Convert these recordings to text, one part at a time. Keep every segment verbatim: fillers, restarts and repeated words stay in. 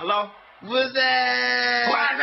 Hello， Who's there？ What's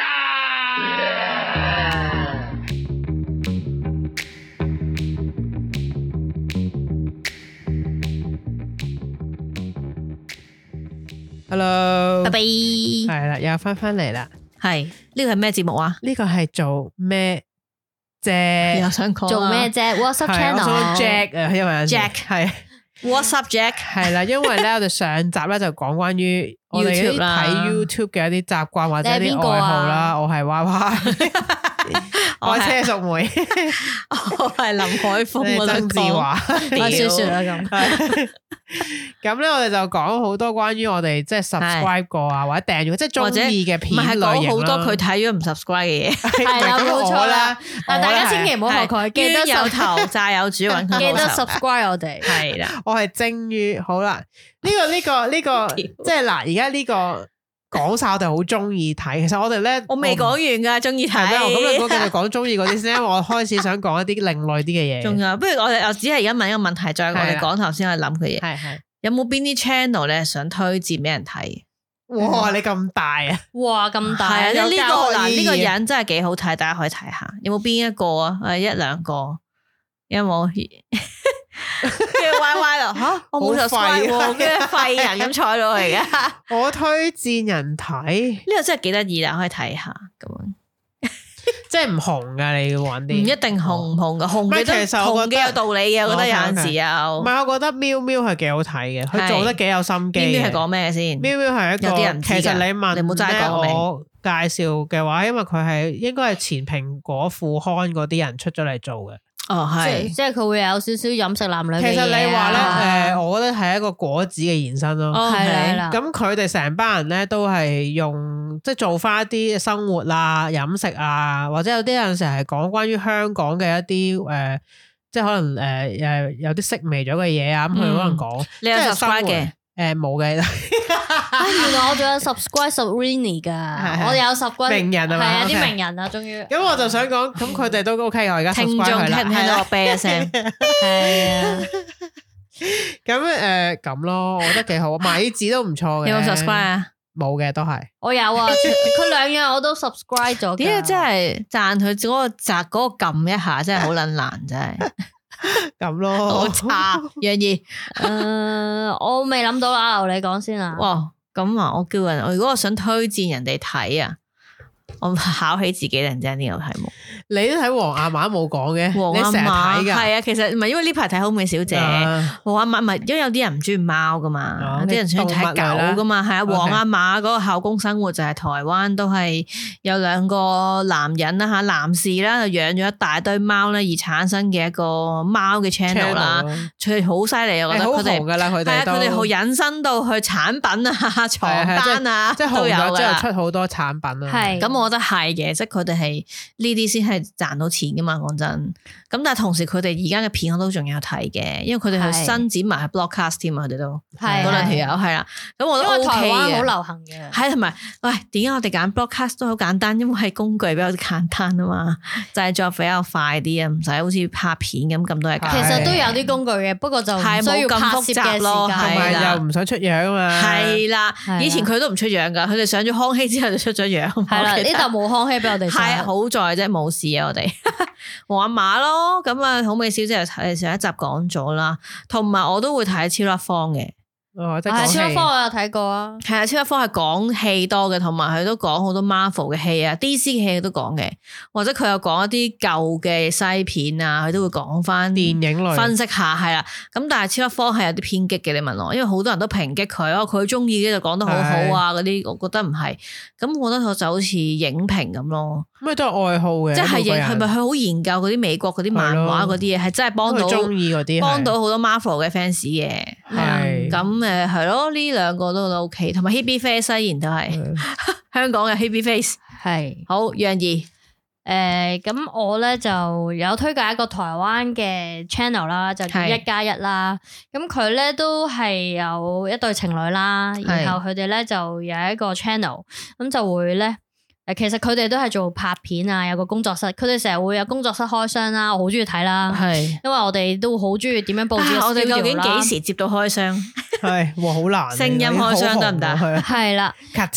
up？Hello， 拜拜， 係啦，又翻翻嚟啦。 係呢個係咩節目啊？ 呢個係做咩啫？ 又想講做咩啫 ？WhatsApp channel 我想 Jack 啊，因為 Jack 係 WhatsApp Jack 係啦，因為咧我哋上集咧就講關於我哋嗰啲睇 YouTube 嘅一啲習慣或者一啲愛好啦。我係娃娃，我係車淑梅， 我係林海峰，我曾志華， 我少少啦咁。 咁咧，我哋就講好多關於我哋即係 subscribe 過啊，或者訂閱，即係中意嘅片類型啦。 唔係講好多佢睇咗唔 subscribe 嘅嘢， 係啦，冇錯啦。但大家千祈唔好學佢，記得有頭債有主揾佢， 記得 subscribe 我哋。 係啦， 我係精於好啦。呢個呢個呢個，即係嗱，而家呢個講晒，我哋好中意睇。其實我哋咧， 我未講完噶，中意睇。 咁你講繼續講中意嗰啲先，因為我開始想講一啲另類啲嘅嘢。 仲有，不如我哋我只係而家問一個問題，再我哋講頭先我諗嘅嘢。 係係。 有冇邊啲 channel 咧想推薦俾人睇？ 哇！你咁大啊！ 哇，咁大啊！呢個嗱呢個人人真係幾好睇，大家可以睇下。有冇邊一個啊？誒，一兩個有冇？跟住 Y Y 咯，吓我冇 subscribe，跟住廢人咁坐喺度嚟嘅。 我推薦人睇呢個真係幾得意啦，可以睇下咁樣。 即係唔紅噶，你要揾啲唔一定紅唔紅噶，紅嘅都紅嘅有道理嘅，我覺得有陣時有。唔係，我覺得喵喵係幾好睇嘅，佢做得幾有心機。 喵喵係講咩先？ 喵喵係一個， 有啲人其實你問你冇齋講我介紹嘅話，因為佢係應該係前蘋果副刊嗰啲人出咗嚟做嘅。 哦，係， 即係佢會有少少飲食男女嘅嘢。 其實你話咧，誒，我覺得係一個果子嘅延伸咯。 係啦， 咁佢哋成班人咧都係用即係做翻一啲生活啊、飲食啊，或者有啲有陣時係講關於香港嘅一啲誒、呃，即係可能誒誒、呃、有啲式微咗嘅嘢啊，咁佢可能講， 你有 subscribe 嘅？ 誒冇嘅。 原來我仲有 subscribe Sabrina 噶，我有 subscribe 名人啊嘛， 係啊啲名人啊，終於。 咁我就想講，咁佢哋都 OK 我而家 subscribe 聽眾佢啦， 聽唔聽到我啤一聲？ 係啊。 咁誒咁咯，我覺得幾好，米子都唔錯嘅。 有冇 subscribe 啊？ 冇嘅都係。 我有啊，佢兩樣我都 subscribe 咗。 點解真係讚佢嗰個摘嗰個撳一下，真係好撚難，真係。 咁咯， 好差，楊怡。 誒，我未諗到啦，由你講先啊。 哇，咁啊，我叫人，我如果我想推薦人哋睇啊，我考起自己突然之間呢個題目。 你都睇黃亞馬冇講嘅， 黃你成日睇㗎。 係啊，其實唔係因為呢排睇好美小姐，黃亞馬唔係因為有啲人唔中意貓噶嘛，有啲人想睇狗噶嘛，係啊。黃亞馬嗰個校工生活就係台灣都係有兩個男人啦吓，男士啦就養咗一大堆貓咧而產生嘅一個貓嘅 channel 啦，佢哋好犀利啊！我覺得佢哋噶啦，佢哋係啊，佢哋好引申到去產品啊、床單啊， 即係紅咗之後出好多產品啊。 係咁，我覺得係嘅，即係佢哋係呢啲先係賺到錢噶嘛，講真。咁但係同時佢哋而家嘅片我都仲有睇嘅，因為佢哋係伸展埋係 broadcast 添啊，佢哋都嗰兩條友係啦。咁我都 OK 嘅。因為台灣好流行嘅。係同埋，喂，點解我哋揀 broadcast 都好簡單？因為係工具比較簡單啊嘛，製作比較快啲啊，唔使好似拍片咁咁多嘢。 其實都有啲工具嘅，不過就唔需要拍攝嘅時間， 同埋又唔想出樣啊嘛。 係啦，以前佢都唔出樣噶，佢哋上咗康熙之後就出咗樣。 係啦，呢度冇康熙俾我哋。 係好在啫，冇事啊，我哋黃亞馬咯，咁啊好美小姐就睇上一集講咗啦，同埋我都會睇超粒方嘅。 哦，即係超粒方我有睇過啊。 係啊，超粒方係講戲多嘅，同埋佢都講好多 Marvel 嘅戲啊 ，D C 嘅戲都講嘅，或者佢有講一啲舊嘅西片啊，佢都會講翻電影類分析下，係啦。咁但係超粒方係有啲偏激嘅，你問我，因為好多人都抨擊佢哦，佢中意嘅就講得好好啊，嗰啲我覺得唔係。咁我覺得我就好似影評咁咯。 咩都係愛好嘅， 即係係咪佢好研究嗰啲美國嗰啲漫畫嗰啲嘢，係真係幫到中意嗰啲， 幫到好多 Marvel 嘅 fans 嘅。係咁誒，係咯，呢兩個都都 OK， 同埋 Hebe Face 雖然都係香港嘅 Hebe Face。係好楊怡， 誒咁我咧就有推介一個台灣嘅 channel 啦，就叫一加一啦。咁佢咧都係有一對情侶啦，然後佢哋咧就有一個 channel，咁就會咧。誒，其實佢哋都係做拍片啊，有個工作室，佢哋成日會有工作室開箱啦，我好中意睇啦。係，因為我哋都好中意點樣佈置。我哋究竟幾時接到開箱？ 係，哇，好難。 聲音開箱得唔得？ 係啦， 咔嚓。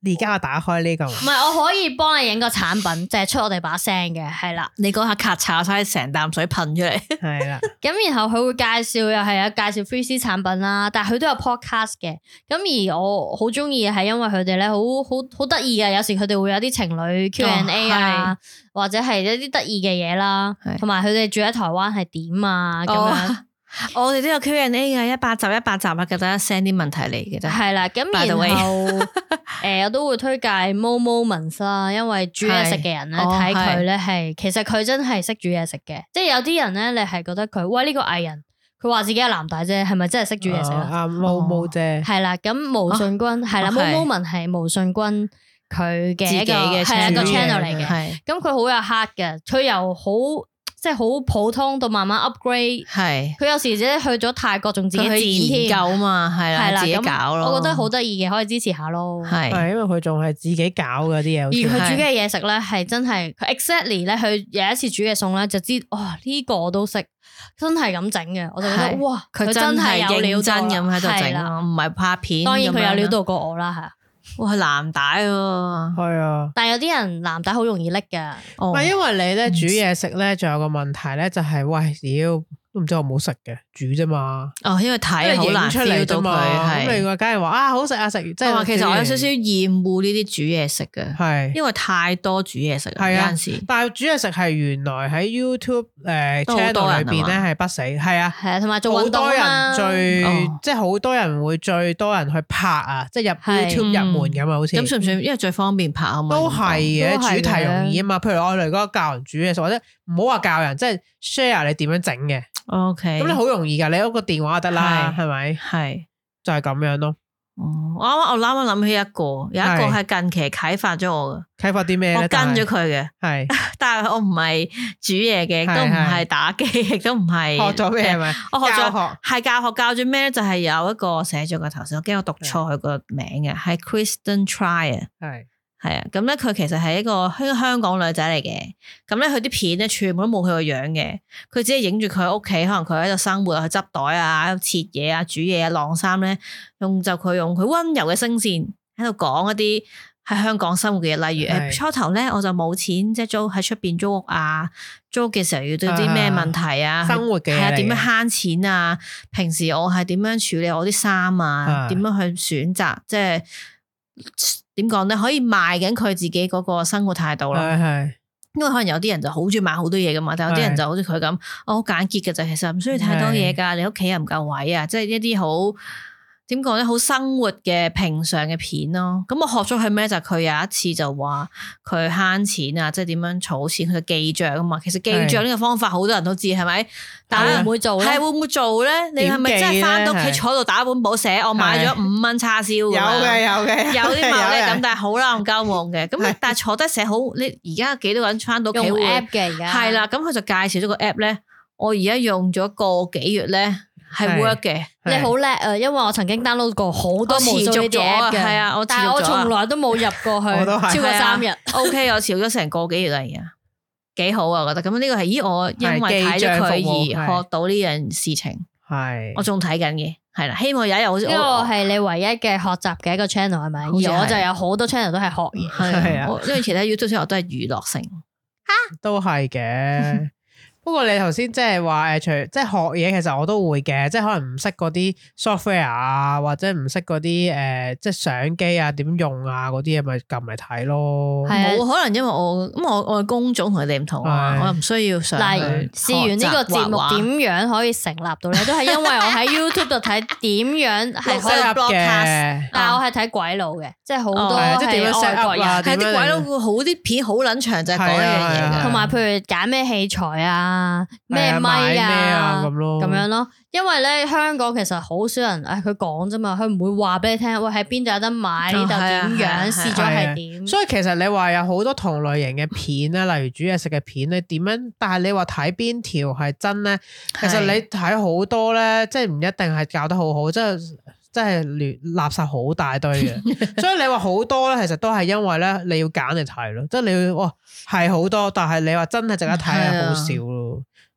而家我打開呢個， 唔係我可以幫你影個產品，就係出我哋把聲嘅，係啦。 你嗰下咔嚓晒成啖水噴出嚟， 係啦。 咁然後佢會介紹又係有介紹 three C 產品啦，但係佢都有 podcast 嘅。咁而我好中意嘅係因為佢哋咧好好好得意嘅，有時佢哋會有啲情侶 Q and A 啊，或者係一啲得意嘅嘢啦，同埋佢哋住喺台灣係點啊咁樣。 我哋都有 Q and A 嘅，一百集一百集啊，記得 send 啲問題嚟嘅啫。 係啦，咁然後誒，我都會推介 Momoments 啦，因為煮嘢食嘅人咧睇佢咧係，其實佢真係識煮嘢食嘅。即係有啲人咧，你係覺得佢，喂呢個藝人，佢話自己係男大啫，係咪真係識煮嘢食啊？ 毛毛啫， 係啦，咁毛舜筠係啦 ，Momoments 係毛舜筠佢嘅一個係一個 channel 嚟嘅。咁佢好有 heart 嘅，佢又好。即係好普通到慢慢 upgrade， 係佢有時咧去咗泰國仲自己剪研究嘛，係啦，自己搞咯。 我覺得好得意嘅，可以支持下咯。 係，係因為佢仲係自己搞嗰啲嘢。而佢煮嘅嘢食咧係真係，佢 exactly 咧，佢有一次煮嘅餸咧就知，哇呢個我都識，真係咁整嘅，我就覺得哇，佢真係有料真咁喺度整，唔係拍片。當然佢有料到過我啦，係。 哇，藍帶喎， 係啊， 但係有啲人藍帶好容易拎噶， 唔係因為你咧煮嘢食咧，仲有個問題咧，就係喂，屌都唔知好唔好食嘅，煮啫嘛。哦，因為睇好難 feel 到佢，咁你話梗係話啊好食啊食，即係話其實我有少少厭惡呢啲煮嘢食嘅，係因為太多煮嘢食啦，有陣時。但係煮嘢食係原來喺 YouTube 誒 channel 裏邊咧係不死，係啊係啊，同埋做運動啊， 好多人最即係好多人會最多人去拍啊，即係入 YouTube 入門咁啊，好似咁算唔算？因為最方便拍啊嘛，都係嘅，主題容易啊嘛。譬如我哋嗰個教人煮嘢食，或者唔好話教人，即係 share 你點樣整嘅。O K，咁你好容易噶，你嗰個電話就得啦，係咪？係就係咁樣咯。哦，我啱啱我啱啱諗起一個，有一個係近期啟發咗我嘅。啟發啲咩咧？我跟咗佢嘅，係，但係我唔係煮嘢嘅，都唔係打機，亦都唔係學咗咩係咪？我學咗係教學，教咗咩咧？就係有一個寫咗個頭先，我驚我讀錯佢個名嘅，係 Kristen Trier，係。係啊，咁咧佢其實係一個香香港女仔嚟嘅，咁咧佢啲片咧全部都冇佢個樣嘅，佢只係影住佢喺屋企，可能佢喺度生活，去執袋啊，喺度切嘢啊，煮嘢啊，晾衫咧，用就佢用佢溫柔嘅聲線喺度講一啲喺香港生活嘅嘢，例如誒初頭咧我就冇錢，即係租喺出邊租屋啊，租嘅時候遇到啲咩問題啊，生活嘅係啊，點樣慳錢啊，平時我係點樣處理我啲衫啊，點樣去選擇，即係。點講咧？可以賣緊佢自己嗰個生活態度咯。係係，因為可能有啲人就好中意買好多嘢噶嘛，但有啲人就好似佢咁，我好簡潔嘅就其實唔需要太多嘢噶。你屋企又唔夠位啊，即係一啲好點講咧，好生活嘅平常嘅片咯。咁我學咗佢咩？就佢、是、有一次就話佢慳錢啊，即係點樣儲錢，佢記賬啊嘛。其實記賬呢個方法好多人都知係咪？但係會唔會做咧？係會唔會做咧？你係咪真係翻到屋企坐度打本簿寫？我買咗五蚊叉燒。有嘅有嘅，有啲冇咧咁，但係好啦，我交往嘅。咁但係坐低寫好，你而家幾多個人翻到屋企用 app 嘅而家？係啦，咁佢就介紹咗個 app 咧。我而家用咗個幾月咧，係 work 嘅。你好叻啊！因為我曾經 download 過好多無數呢啲 app 嘅，係啊，但係我從來都冇入過去，超過三日。O K， 我潮咗成個幾月啦，而家幾好啊！我覺得咁呢個係咦，我因為睇咗佢而學到呢樣事情，係我仲睇緊嘅，係啦。希望有一日好似呢個係你唯一嘅學習嘅一個 channel 係咪？而我就有好多 channel 都係學嘢，係啊，因為其他 YouTube channel 都係娛樂性，吓都係嘅。不過你頭先即係話誒，除即係學嘢，其實我都會嘅，即係可能唔識嗰啲 software 啊，或者唔識嗰啲誒，即係相機啊點用啊嗰啲嘢，咪撳嚟睇咯。冇可能，因為我咁我我嘅工種同佢哋唔同啊，我又唔需要上去。嗱，試完呢個節目點樣可以成立到咧？都係因為我喺 YouTube 度睇點樣係可以 broadcast，但係我係睇鬼佬嘅，即係好多即係點樣 set up 啊，睇啲鬼佬會好啲片好撚長，就係講一樣嘢嘅，同埋譬如揀咩器材啊。啊咩咪啊咁咯，咁樣咯，因為咧香港其實好少人，誒佢講啫嘛，佢唔會話俾你聽，喂喺邊度有得買，呢度點樣試咗係點。所以其實你話有好多同類型嘅片咧，例如煮嘢食嘅片，你點樣？但係你話睇邊條係真咧？其實你睇好多咧，即係唔一定係教得好好，即係。真係亂垃圾好大堆嘅，所以你話好多咧，其實都係因為咧你要揀嚟睇咯，即係你要哇係好多，但係你話真係值得睇係好少咯。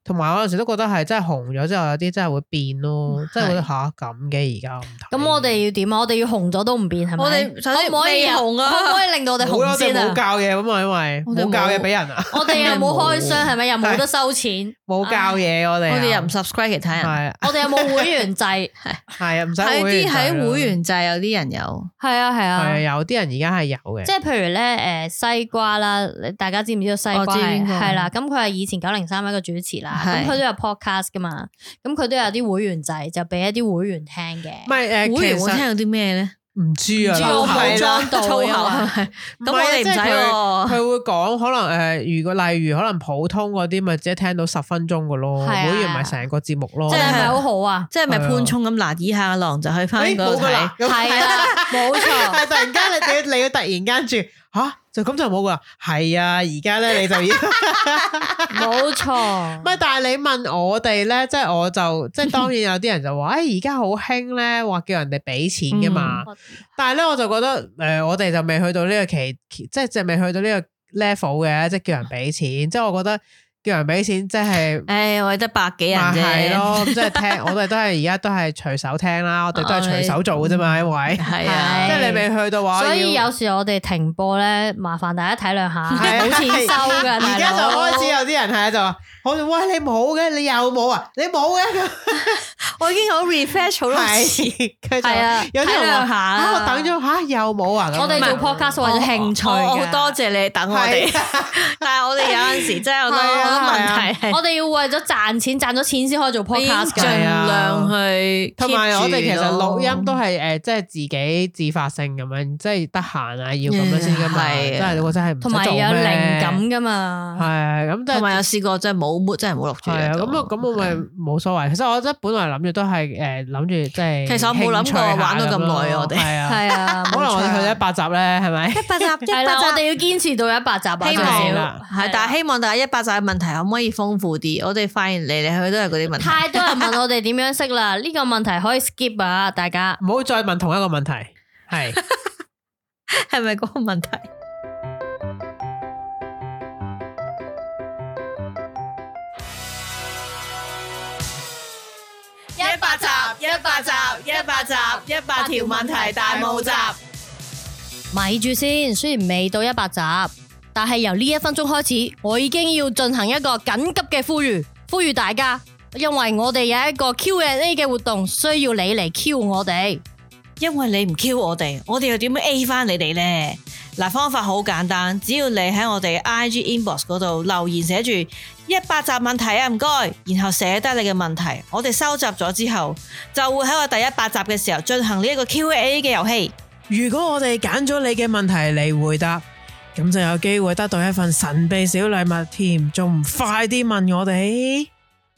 同埋我有陣時都覺得係真係紅咗之後有啲真係會變咯，真係覺得吓咁嘅而家咁。 咁我哋要點啊？我哋要紅咗都唔變係咪？ 我哋首先未紅啊， 可唔可以令到我哋紅先啊？ 冇教嘢咁啊，因為冇教嘢俾人啊。 我哋又冇開箱係咪？又冇得收錢， 冇教嘢我哋。 我哋又唔 subscribe 其他人。 係。 我哋有冇會員制？係係啊，唔使會員制。 喺啲喺會員制有啲人有。 係啊係啊。 係啊，有啲人而家係有嘅。 即係譬如咧，誒西瓜啦，大家知唔知道西瓜係係啦？咁佢係以前九零三一個主持啦，咁佢都有 podcast 噶嘛，咁佢都有啲會員制，就俾一啲會員聽嘅。 唔係誒， 會員會聽有啲咩咧？ 唔知啊， 粗口裝到粗口係。咁我哋唔使喎。 佢會講可能誒，如果例如可能普通嗰啲，咪只係聽到十分鐘嘅咯，會員咪成個節目咯。 即係咪好好啊？ 即係咪潘聰咁嗱？以下狼就去翻嗰度睇。 係啊，冇錯。 係突然間你你你要突然間住吓，就咁就冇噶啦。係啊，而家咧你就要冇錯。 唔係，但係你問我哋咧，即係我就即係當然有啲人就話，誒而家好興咧，話叫人哋俾錢噶嘛。嗯、但係咧我就覺得誒、呃，我哋就未去到呢個期，即係就未去到呢個 level 嘅，即係叫人俾錢。即係我覺得。叫人俾錢即係， 誒，我哋得百幾人啫， 係咯，即係聽，我哋都係而家都係隨手聽啦，我哋都係隨手做嘅啫嘛，因為係啊，即係你未去到話， 所以有時我哋停播咧，麻煩大家體諒下，冇錢收噶。 而家就開始有啲人係就話，我哋喂，你冇嘅，你又冇啊，你冇嘅， 我已經好 refresh 好多次， 係啊， 有啲人話下， 我等咗吓又冇啊， 我哋做 podcast 為咗興趣嘅， 多謝你等我哋，但係我哋有陣時真係好多。問題， 我哋要為咗賺錢，賺咗錢先可以做 podcast， 盡量去。 同埋我哋其實錄音都係誒，即係自己自發性咁樣，即係得閒啊，要咁樣先噶嘛。真係我真係唔同埋有靈感噶嘛。 係咁， 同埋有試過真係冇，真係冇錄住。 係啊，咁啊，咁我咪冇所謂。其實我真係本來諗住都係誒，諗住即係。 其實我冇諗過玩到咁耐啊！我哋係啊， 係啊， 可能我哋去咗一百集咧，係咪？ 一百集， 係啦，我哋要堅持到一百集啊！ 希望係，但係希望大家一百集嘅問題可唔可以豐富啲？我哋發現嚟嚟去去都係嗰啲問題。 太多人問我哋點樣識啦，呢個問題可以 skip 啊！大家唔好再問同一個問題，係係咪嗰個問題？一百集，一百集，一百集，一百條問題大募集。 咪住先，雖然未到一百集。但係由呢一分鐘開始，我已經要進行一個緊急嘅呼籲，呼籲大家，因為我哋有一個 Q and A 嘅活動，需要你嚟 Q 我哋。 因為你唔 Q 我哋，我哋又點樣 A 翻你哋呢？嗱，方法好簡單，只要你喺我哋 I G inbox 嗰度留言寫住一百集問題啊，唔該，然後寫低你嘅問題，我哋收集咗之後，就會喺我第一百集嘅時候進行呢一個 Q and A 嘅遊戲。 如果我哋揀咗你嘅問題嚟回答，咁就有機會得到一份神秘小禮物添，仲唔快啲問我哋？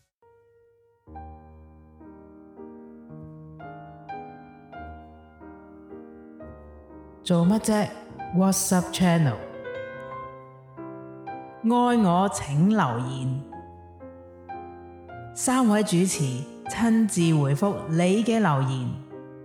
做乜啫 ？WhatsApp channel， 愛我請留言，三位主持親自回覆你嘅留言。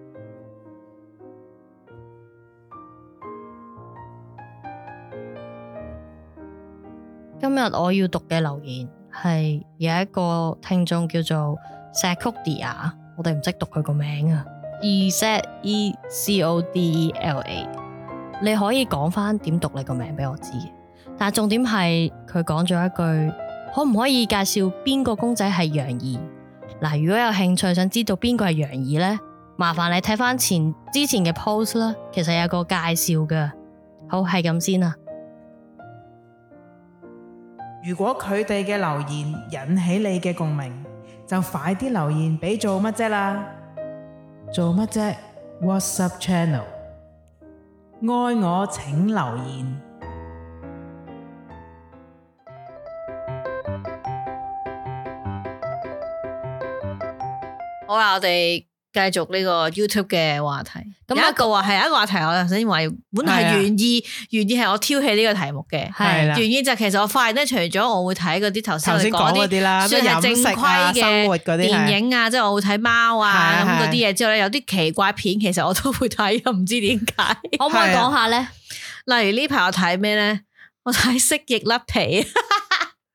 今日我要讀嘅留言係有一個聽眾叫做 Secodia， 我哋唔識讀佢個名啊 ，E Z E C O D E L A， 你可以講翻點讀你個名俾我知，但係重點係佢講咗一句，可唔可以介紹邊個公仔係楊怡？嗱，如果有興趣想知道邊個係楊怡呢，麻煩你睇翻前之前嘅 post 啦，其實有個介紹噶。好，係咁先啦。 如果佢哋嘅留言引起你嘅共鳴，就快啲留言俾做乜啫啦！做乜啫 ？WhatsApp channel， 愛我請留言。 好啦，我哋繼續呢個 YouTube 嘅話題。咁有一個話係有一個話題，我頭先話本來係原意，原意係我挑起呢個題目嘅。係啦，原意就其實我發現咧，除咗我會睇嗰啲頭先講嗰啲啦，算係正規嘅電影啊，即係我會睇貓啊咁嗰啲嘢之後咧，有啲奇怪片，其實我都會睇，又唔知點解。 可唔可以講下咧？ 例如呢排我睇咩咧？我睇蜥蜴甩皮。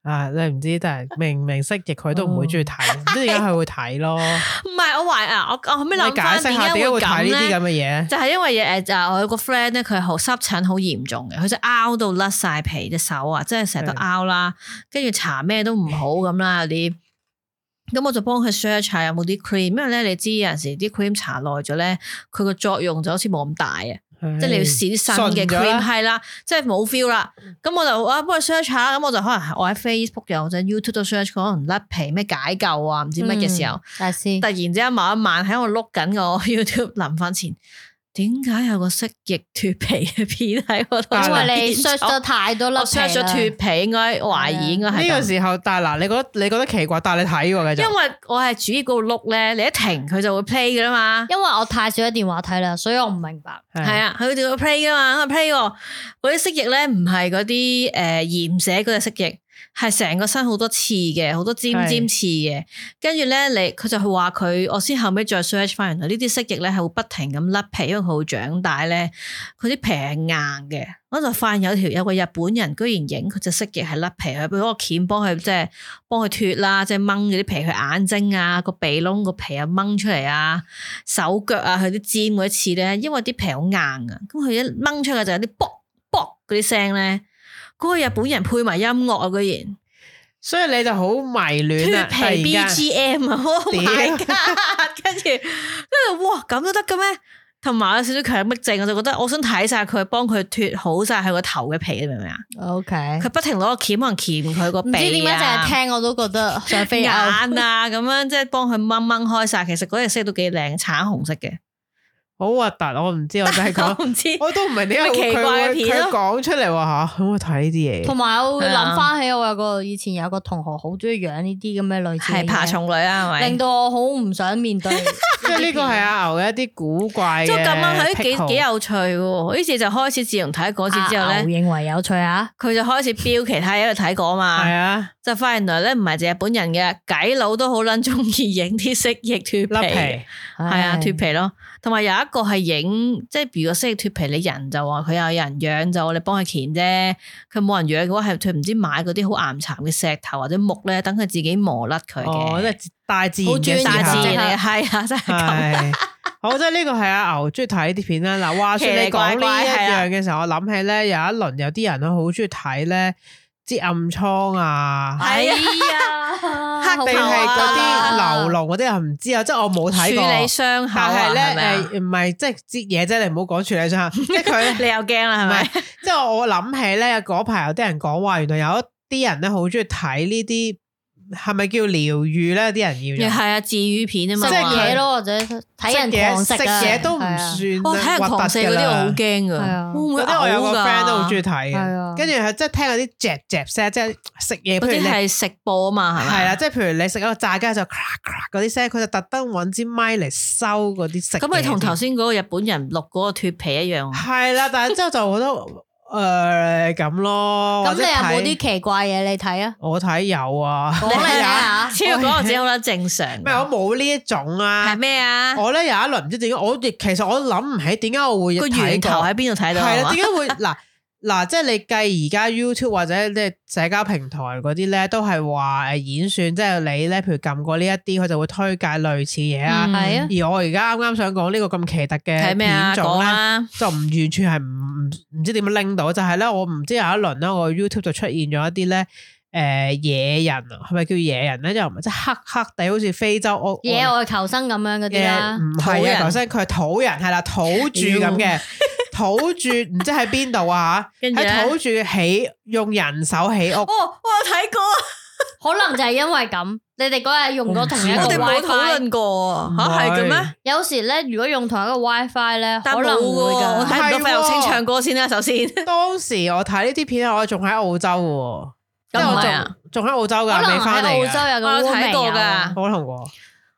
啊，你唔知，但係明明蜥蜴佢都唔會中意睇，唔知點解佢會睇咯。 唔係我懷啊，我我後尾諗翻解釋下點解會睇呢啲咁嘅嘢？ 就係因為誒就我有個 friend 咧，佢係好濕疹好嚴重嘅，佢就拗到甩晒皮隻手啊，即係成日都拗啦，跟住搽咩都唔好咁啦，有啲。咁我就幫佢 search 下有冇啲 cream，因為咧你知有陣時啲 cream 搽耐咗咧，佢個作用就好似冇咁大啊，即係你要試啲新嘅 cream 係啦，即係冇 feel 啦。咁我就啊幫佢 search 下，咁我就可能我喺 Facebook 又或者 YouTube 都 search，可能甩皮咩解救啊，唔知乜嘅時候， 大師突然之間某一晚喺我碌緊個 YouTube 臨瞓前。點解有個蜥蜴脫皮嘅片喺嗰度？ 因為你 search 咗太多粒皮啦。我 search 咗脫皮，應該懷疑應該係呢個時候。但係嗱，你覺得你覺得奇怪，但係你睇喎，繼續。 因為我係主要嗰度碌咧，你一停佢就會 play 噶啦嘛。 因為我太少喺電話睇啦，所以我唔明白。 係啊，佢哋會 play 噶嘛，佢 play 喎。嗰啲蜥蜴咧唔係嗰啲誒鹽蛇嗰隻蜥蜴。係成個身好多刺嘅，好多尖尖刺嘅，跟住咧，你佢就話佢，我先後尾再 search 翻，原來呢啲蜥蜴咧係會不停咁甩皮，因為佢會長大咧，佢啲皮係硬嘅。我就發現有條有個日本人居然影佢隻蜥蜴係甩皮，佢俾嗰個鉗幫佢即係幫佢脫啦，即係掹嗰啲皮，佢眼睛啊個鼻窿個皮啊掹出嚟啊，手腳啊佢啲尖嗰啲刺咧，因為啲皮好硬啊，咁佢一掹出嚟就有啲卜卜嗰啲聲咧。嗰個日本人配埋音樂啊，居然， 所以你就好迷戀啊！ 脫皮 B G M 啊，Oh my god！跟住，跟住哇咁都得嘅咩？同埋有少少強迫症，我就覺得我想睇晒佢，幫佢脫好晒佢個頭嘅皮，你明唔明啊 ？OK， 佢不停攞個鉗可能鉗佢個鼻啊，唔知點解淨係聽我都覺得想飛眼啊咁樣，即係幫佢掹掹開晒。其實嗰隻色都幾靚，橙紅色嘅。 好核突，我唔知，我就係講， 我唔知， 我都唔明點解奇怪嘅片佢講出嚟話吓，可唔可以睇呢啲嘢？ 同埋我會諗翻起我有個以前有個同學好中意養呢啲咁嘅類似係爬蟲類啊，係咪？ 令到我好唔想面對。 即係呢個係阿牛嘅一啲古怪嘅， 即係咁樣，佢幾幾有趣嘅。於是就開始自從睇嗰次之後咧， 認為有趣啊， 佢就開始標其他嘢去睇過嘛。 係啊， 就發現原來咧唔係淨係日本人嘅，鬼佬都好撚中意影啲蜥蜴脫皮，係啊脫皮咯。同埋有一個係影，即係如果蜥蜴脫皮，你人就話佢有人養就你幫佢鉗啫。佢冇人養嘅話，係佢唔知買嗰啲好岩殘嘅石頭或者木咧，等佢自己磨甩佢嘅。 哦，即係大自然嘅大自然嚟嘅，係啊，真係咁。 好，即係呢個係阿牛中意睇啲片啦。嗱，話說你講呢一樣嘅時候，我諗起咧有一輪有啲人都好中意睇咧。啲暗瘡啊， 係啊， 定係嗰啲流膿嗰啲又唔知啊，即係我冇睇過。處理傷口， 但係咧誒，唔係即係擠嘢啫，你唔好講處理傷口。即係佢， 你又驚啦係咪？ 即係我諗起咧，嗰排有啲人講話，原來有一啲人咧好中意睇呢啲。係咪叫療愈咧？啲人要係啊，治愈片啊嘛， 食嘢咯，或者睇人狂食食嘢都唔算。 我睇人狂食嗰啲我好驚噶， 嗰啲我有個 friend 都好中意睇嘅。跟住係即係聽嗰啲嚼嚼聲，即係食嘢。 嗰啲係食播啊嘛，係咪？ 係啦，即係譬如你食一個炸雞就咔咔嗰啲聲，佢就特登揾支咪嚟收嗰啲食。 咁咪同頭先嗰個日本人錄嗰個脫皮一樣。 係啦，但係之後就覺得。誒，咁咯， 咁你有冇啲奇怪嘢你睇啊？ 我睇有啊， 講嚟睇下， 超過嗰個只好啦，正常。 咩？我冇呢一種啊。 係咩啊？ 我咧有一輪唔知點解，我亦其實我諗唔起點解我會個源頭喺邊度睇到？ 係啦，點解會嗱嗱？即係你計而家 YouTube 或者即係社交平台嗰啲咧，都係話誒演算，即係你咧，譬如撳過呢一啲，佢就會推介類似嘢啊。係啊。而我而家啱啱想講呢個咁奇特嘅片種咧，就唔完全係唔。唔知點樣拎到，就係、是、咧，我唔知有一輪咧，我 YouTube 就出現咗一啲咧，誒、呃、野人啊，係咪叫野人咧？又唔係即係黑黑地，好似非洲屋野外求生咁樣嗰啲啦， 唔係啊，求生佢係土人，係啦，土著咁嘅土著，唔知喺邊度啊？喺土著起用人手起屋。 哦，我有睇過， 可能就係因為咁。你哋嗰日用咗同一個 WiFi，我哋冇討論過吓，係嘅咩？ 有時咧，如果用同一個 WiFi 咧，可能會噶。 我睇唔到費玉清唱歌先啦，首先。 當時我睇呢啲片，我仲喺澳洲嘅，咁我仲仲喺澳洲噶，未翻嚟。 澳洲有個我睇過噶， 可能過。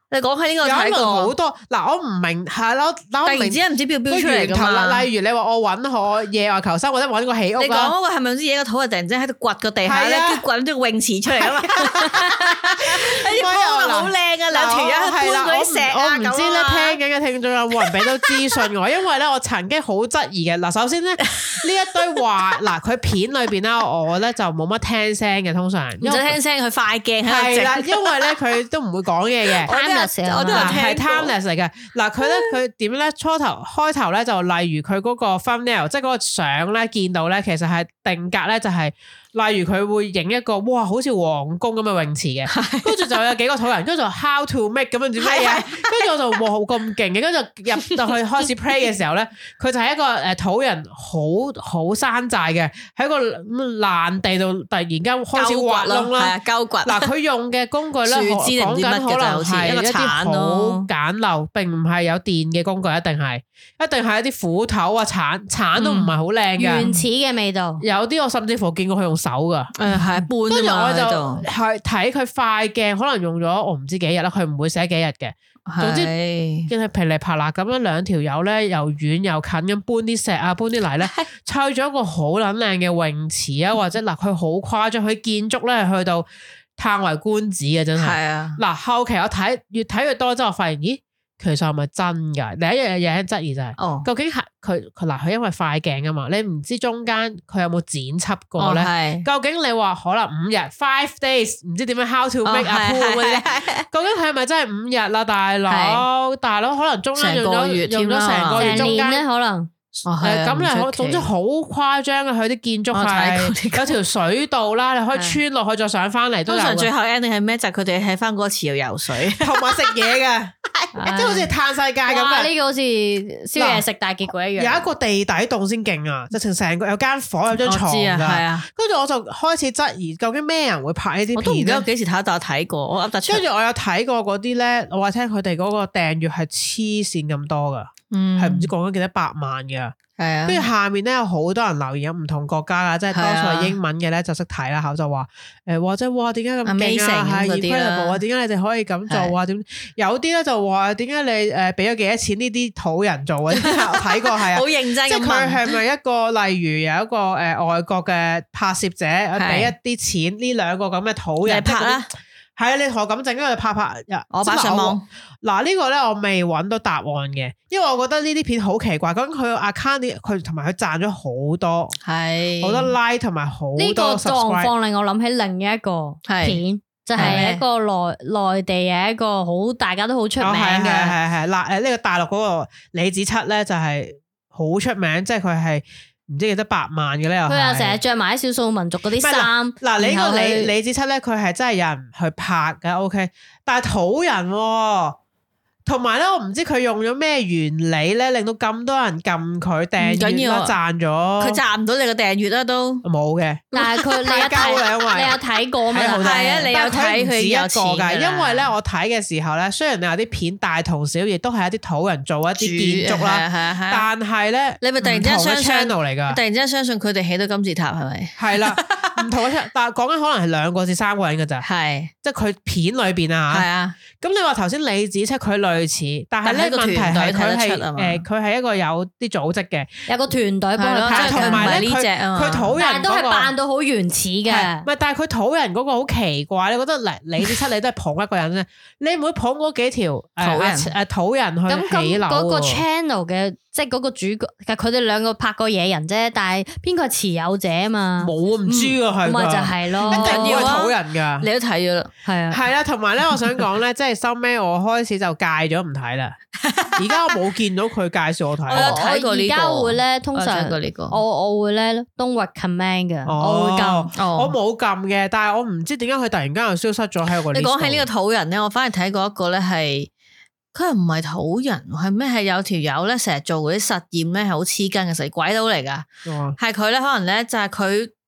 你講起呢個睇過好多嗱，我唔明係咯，突然之間唔知標標出嚟㗎嘛。 例如你話我揾我野外求生或者揾個起屋， 你講嗰個係咪好似野個土人突然之間喺度掘個地下咧，跟住掘咗個泳池出嚟啊嘛？啲鋪好靚啊，兩條友搬嗰啲石啊咁啊。 我唔知咧，聽緊嘅聽眾有冇人俾到資訊我？因為咧我曾經好質疑嘅嗱，首先咧呢一堆話嗱，佢片裏邊啦，我咧就冇乜聽聲嘅，通常唔使聽聲，佢快鏡係啦，因為咧佢都唔會講嘢嘅。 我都係 timeless 嚟嘅，嗱佢咧佢點咧初頭開頭咧就例如佢嗰個 thumbnail，即係嗰個相咧見到咧，其實係定格咧就係、是。例如佢會影一個哇，好似皇宮咁嘅泳池嘅，跟住就有幾個土人，跟住就 how to make 咁樣點乜嘢，跟住我就哇好咁勁嘅，跟住入到去開始 play 嘅時候咧，佢就係一個誒土人，好好山寨嘅，喺個爛地度突然間開始挖窿啦， 鳩掘。 嗱佢用嘅工具咧，講緊可能係一啲好簡陋，並唔係有電嘅工具，一定係一定係一啲斧頭啊鏟鏟都唔係好靚嘅原始嘅味道。 有啲我甚至乎見過佢用手噶， 誒係搬，跟住我就係睇佢快鏡，可能用咗我唔知幾日啦，佢唔會寫幾日嘅。總之見係噼里啪啦咁樣，兩條友咧又遠又近咁搬啲石啊，搬啲泥咧，砌咗一個好撚靚嘅泳池啊，或者嗱佢好誇張，佢建築咧去到嘆為觀止啊，真係。係啊，嗱後期我睇越睇越多之後，我發現咦。其實係咪真㗎？第一樣嘢有質疑就係、是，哦、究竟係佢佢嗱佢因為快鏡啊嘛，你唔知中間佢有冇剪輯過咧？哦、究竟你話可能五日 five days 唔知點樣 how to make a pool 嗰啲咧？究竟佢係咪真係五日啦，大佬？大佬可能中間用咗用咗成個月中間咧，可能。誒，咁你總之好誇張嘅，佢啲建築係有條水道啦，你可以穿落去再上翻嚟。通常最後 ending 係咩？就佢哋喺翻嗰個池度游水，同埋食嘢嘅，即係好似嘆世界咁嘅。呢個好似燒嘢食大結果一樣。有一個地底洞先勁啊，直情成個有間房有張床㗎。係啊，跟住我就開始質疑，究竟咩人會拍呢啲片？我都唔記得幾時睇，但我睇過，我噏得出。跟住我有睇過嗰啲咧，我話聽佢哋嗰個訂閱係黐線咁多噶。嗯，係唔知講緊幾多百萬嘅，係啊。跟住下面咧有好多人留言，有唔同國家噶，即係多數係英文嘅咧就識睇啦，口就話誒，或者哇點解咁勁啊？係 incredible 啊，點解你哋可以咁做啊？點有啲咧就話點解你誒俾咗幾多錢呢啲土人做啊？睇過係啊，好認真。即係佢係咪一個例如有一個誒外國嘅拍攝者俾一啲錢呢兩個咁嘅土人拍啦？係啊，你同我咁整，跟住拍拍，我擺上網。嗱呢個咧我未揾到答案嘅，因為我覺得呢啲片好奇怪。咁佢個 account 佢同埋佢賺咗好多，係好多 like 同埋好多 subscribe。呢個狀況令我諗起另一個片，就係一個內內地嘅一個好大家都好出名嘅，係係係嗱誒呢個大陸嗰個李子柒咧就係好出名，即係佢係。唔知幾多百萬嘅咧，又佢又成日着埋啲少數民族嗰啲衫。嗱，你呢個李李子柒咧，佢係真係有人去拍嘅 ，OK。但係土人、哦，同埋咧，我唔知佢用咗咩原理咧，令到咁多人撳佢訂閱啦，賺咗。佢賺唔到你個訂閱啦，都冇嘅。但係佢你有睇，你有睇過咩？係啊，你有睇佢有個噶。因為咧，我睇嘅時候咧，雖然你有啲片大同小異，都係一啲土人做一啲建築啦，但係咧，你咪突然之間相信 channel 嚟噶，突然之間相信佢哋起到金字塔係咪？係啦，唔同嘅，但係講緊可能係兩個至三個人噶咋，係即係佢片裏邊啊吓。係啊，咁你話頭先李子柒佢類似，但係咧問題係佢係誒，佢係一個有啲組織嘅，有個團隊幫佢拍，同埋咧佢佢土人嗰個，但係都係扮到好原始嘅。唔係，但係佢土人嗰個好奇怪，你覺得嚟李子柒你都係捧一個人啫，你唔會捧嗰幾條土人誒土人去起樓。咁嗰個 channel 嘅。即係嗰個主角，佢哋兩個拍過野人啫，但係邊個係持有者啊嘛？冇唔知啊，係咪就係咯？一定要土人噶，你都睇咗啦，係啊，係啦。同埋咧，我想講咧，即係收尾我開始就戒咗唔睇啦。而家我冇見到佢介紹我睇，我有睇過呢個。而家會咧，通常我我會咧 don't recommend 嘅，我會撳，我冇撳嘅。但係我唔知點解佢突然間又消失咗喺個。你講起呢個土人咧，我反而睇過一個咧係。佢又唔係土人，係咩？係有條友咧，成日做嗰啲實驗咧，係好黐筋嘅，成鬼佬嚟噶。係佢咧，可能咧就係佢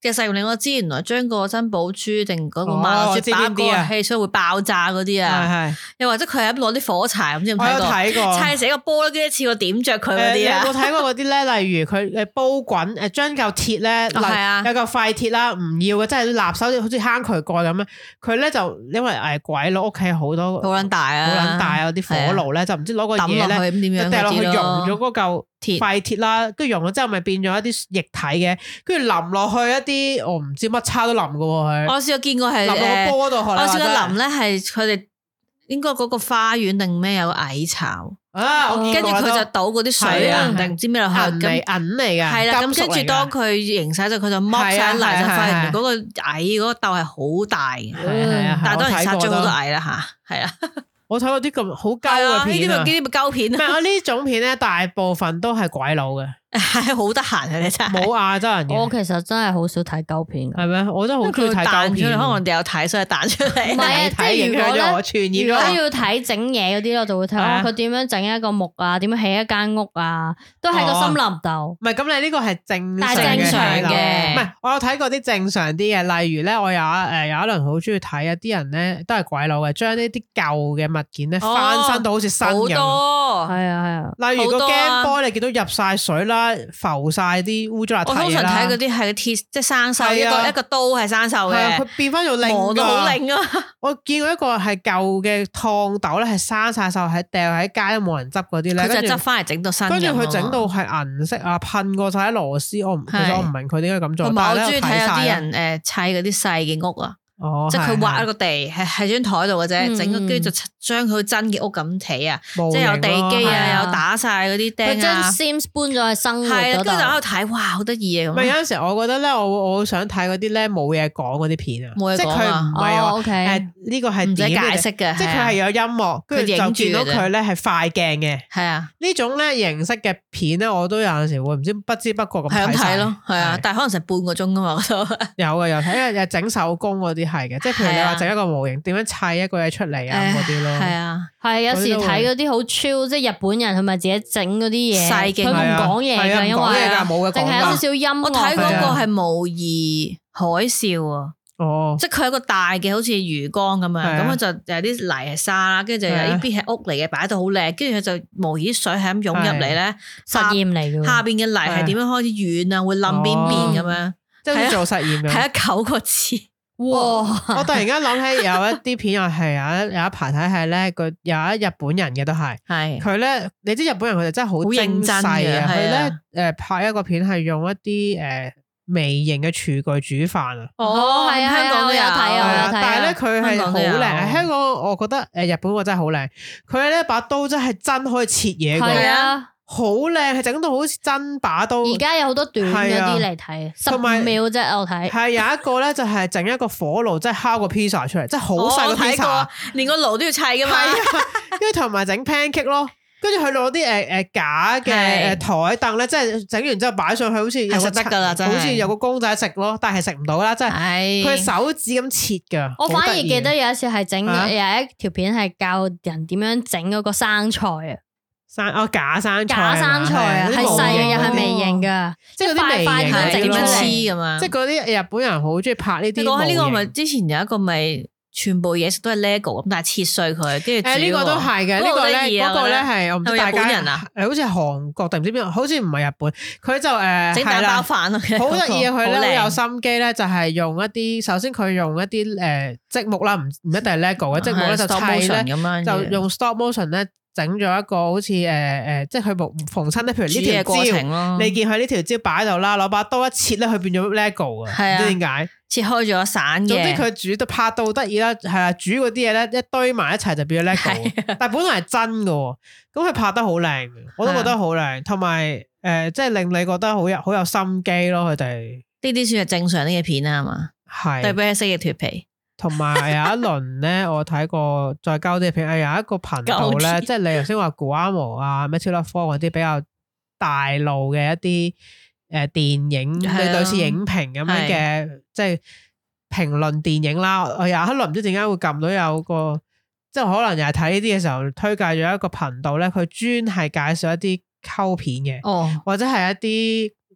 嘅實驗令我知，原來將個珍寶珠定嗰個萬能珠打個汽水會爆炸嗰啲啊，又或者佢係咁攞啲火柴，唔知有冇睇過？砌成一個波咧，跟住一次過點着佢嗰啲啊！ 有冇睇過嗰啲咧？例如佢誒煲滾誒將嚿鐵咧，有嚿廢鐵啦，唔要嘅，即係立手好似坑渠蓋咁樣。佢咧就因為誒鬼佬屋企好多好撚大啊， 好撚大啊啲火爐咧，就唔知攞個嘢咧，掉落去溶咗嗰嚿廢鐵啦，跟住溶咗之後咪變咗一啲液體嘅，跟住淋落去一啲我唔知乜叉都淋嘅喎佢。我試過見過係淋落個波度，我試過淋咧係佢哋應該嗰個花園定咩有個蟻巢啊，跟住佢就倒嗰啲水啊定唔知咩落去，銀嚟銀嚟嘅，係啦，咁跟住當佢凝晒咗，佢就剝晒嚟就發現嗰個蟻嗰個竇係好大嘅，但係當然殺咗好多蟻啦吓，係啊。我睇過啲咁好膠嘅片啊，呢啲咪呢啲咪膠片啊。唔係我呢種片咧，大部分都係鬼佬嘅，係好得閒啊！你真係冇亞洲人嘅。我其實真係好少睇膠片，係咩？我真係好中意睇膠片。可能我哋有睇，所以彈出嚟。唔係啊，即係如果咧，如果要睇整嘢嗰啲，我就會睇佢點樣整一個木啊，點樣起一間屋啊，都喺個森林度。唔係咁，你呢個係正正常嘅。唔係，我有睇過啲正常啲嘅，例如咧，我有誒有一輪好中意睇啊，啲人咧都係鬼佬嘅，將呢啲舊嘅物件咧翻身到好似新咁，係啊係啊。例如個 Game Boy 你見到入晒水啦，浮晒啲污糟邋遢嘢啦。我通常睇嗰啲係鐵，即係生鏽，一個一個刀係生鏽嘅，佢變翻做靚，磨到好靚啊！我見過一個係舊嘅燙斗咧，係生晒鏽，喺掉喺街都冇人執嗰啲咧，佢就執翻嚟整到新。跟住佢整到係銀色啊，噴過晒啲螺絲，我唔其實我唔明佢點解咁做。同埋我中意睇有啲人誒砌嗰啲細嘅屋啊。哦，即係佢挖一個地，係喺張台度嘅啫，整個跟住就將佢真嘅屋咁起啊，即係有地基啊，有打晒嗰啲釘啊，佢將 Sims 搬咗去生活嗰度，跟住就喺度睇，哇，好得意啊！咁有陣時我覺得咧，我我好想睇嗰啲咧冇嘢講嗰啲片啊，即係佢唔係話誒呢個係唔使解釋嘅，即係佢係有音樂，跟住就見到佢咧係快鏡嘅，係啊，呢種咧形式嘅片咧，我都有陣時會唔知不知不覺咁睇睇咯，係啊，但係可能成半個鐘噶嘛，我都有嘅，有睇，因為有整手工嗰啲。係嘅，即係譬如你話整一個模型，點樣砌一個嘢出嚟啊嗰啲咯。係啊，係有時睇嗰啲好超，即係日本人佢咪自己整嗰啲嘢，佢唔講嘢嘅，因為淨係有少少音樂。我睇嗰個係模擬海嘯啊，哦，即係佢係一個大嘅好似魚缸咁樣，咁佢就有啲泥係沙啦，跟住就有呢邊係屋嚟嘅，擺到好靚，跟住佢就模擬水係咁湧入嚟咧，實驗嚟嘅。下邊嘅泥係點樣開始軟啊，會冧邊邊咁樣，即係做實驗嘅。睇咗九個字。哇！我突然間諗起有一啲片又係有一有一排睇係咧，佢有一日本人嘅都係，係佢咧，你知日本人佢哋真係好精細啊！佢咧誒拍一個片係用一啲誒微型嘅廚具煮飯啊！哦，係啊，香港都有睇啊，但係咧佢係好靚。香港我覺得誒日本個真係好靚，佢咧把刀真係真可以切嘢嘅。好靚，係整到好似真把刀。而家有好多短嗰啲嚟睇，十五秒啫，我睇。係有一個咧，就係整一個火爐，即係烤個 pizza 出嚟，即係好細個 pizza，連個爐都要砌噶嘛。跟住同埋整 pancake 咯，跟住佢攞啲誒誒假嘅誒台凳咧，即係整完之後擺上去，好似有個得噶啦，好似有個公仔食咯，但係食唔到啦，即係佢手指咁切噶。我反而記得有一次係整有一條片係教人點樣整嗰個生菜啊。生哦假生菜，假生菜啊，係細嘅又係微型噶，即係嗰啲微型整出嚟咁啊！即係嗰啲日本人好中意拍呢啲。講起呢個咪之前有一個咪全部嘢食都係 Lego 咁，但係切碎佢，跟住誒呢個都係嘅，呢個咧嗰個咧係我唔知大家人啊，誒好似係韓國定唔知邊，好似唔係日本，佢就誒整蛋包飯啊，好得意啊！佢咧好有心機咧，就係用一啲首先佢用一啲誒積木啦，唔唔一定係 Lego 嘅積木咧，就砌咧就用 stop motion 咧。整咗一個好似誒誒，即係佢逢親咧，譬如呢條蕉，你見佢呢條蕉擺喺度啦，攞把刀一切咧，佢變咗 Lego 啊，唔知點解切開咗散嘅。總之佢煮到拍到得意啦，係啊，煮嗰啲嘢咧一堆埋一齊就變咗 Lego，但係本來係真嘅，咁佢拍得好靚，我都覺得好靚，同埋誒，即係令你覺得好有好有心機咯，佢哋呢啲算係正常啲嘅片啊嘛，係對比起蜥蜴脫皮。同埋有一輪咧，我睇過再交啲片，有一個頻道咧，即係你頭先話 Guamo 啊、Matilda Ford 嗰啲比較大路嘅一啲誒電影，類似影評咁樣嘅，即係評論電影啦。我有一輪唔知點解會撳到有個，即係可能又係睇呢啲嘅時候，推介咗一個頻道咧，佢專係介紹一啲溝片嘅，哦，或者係一啲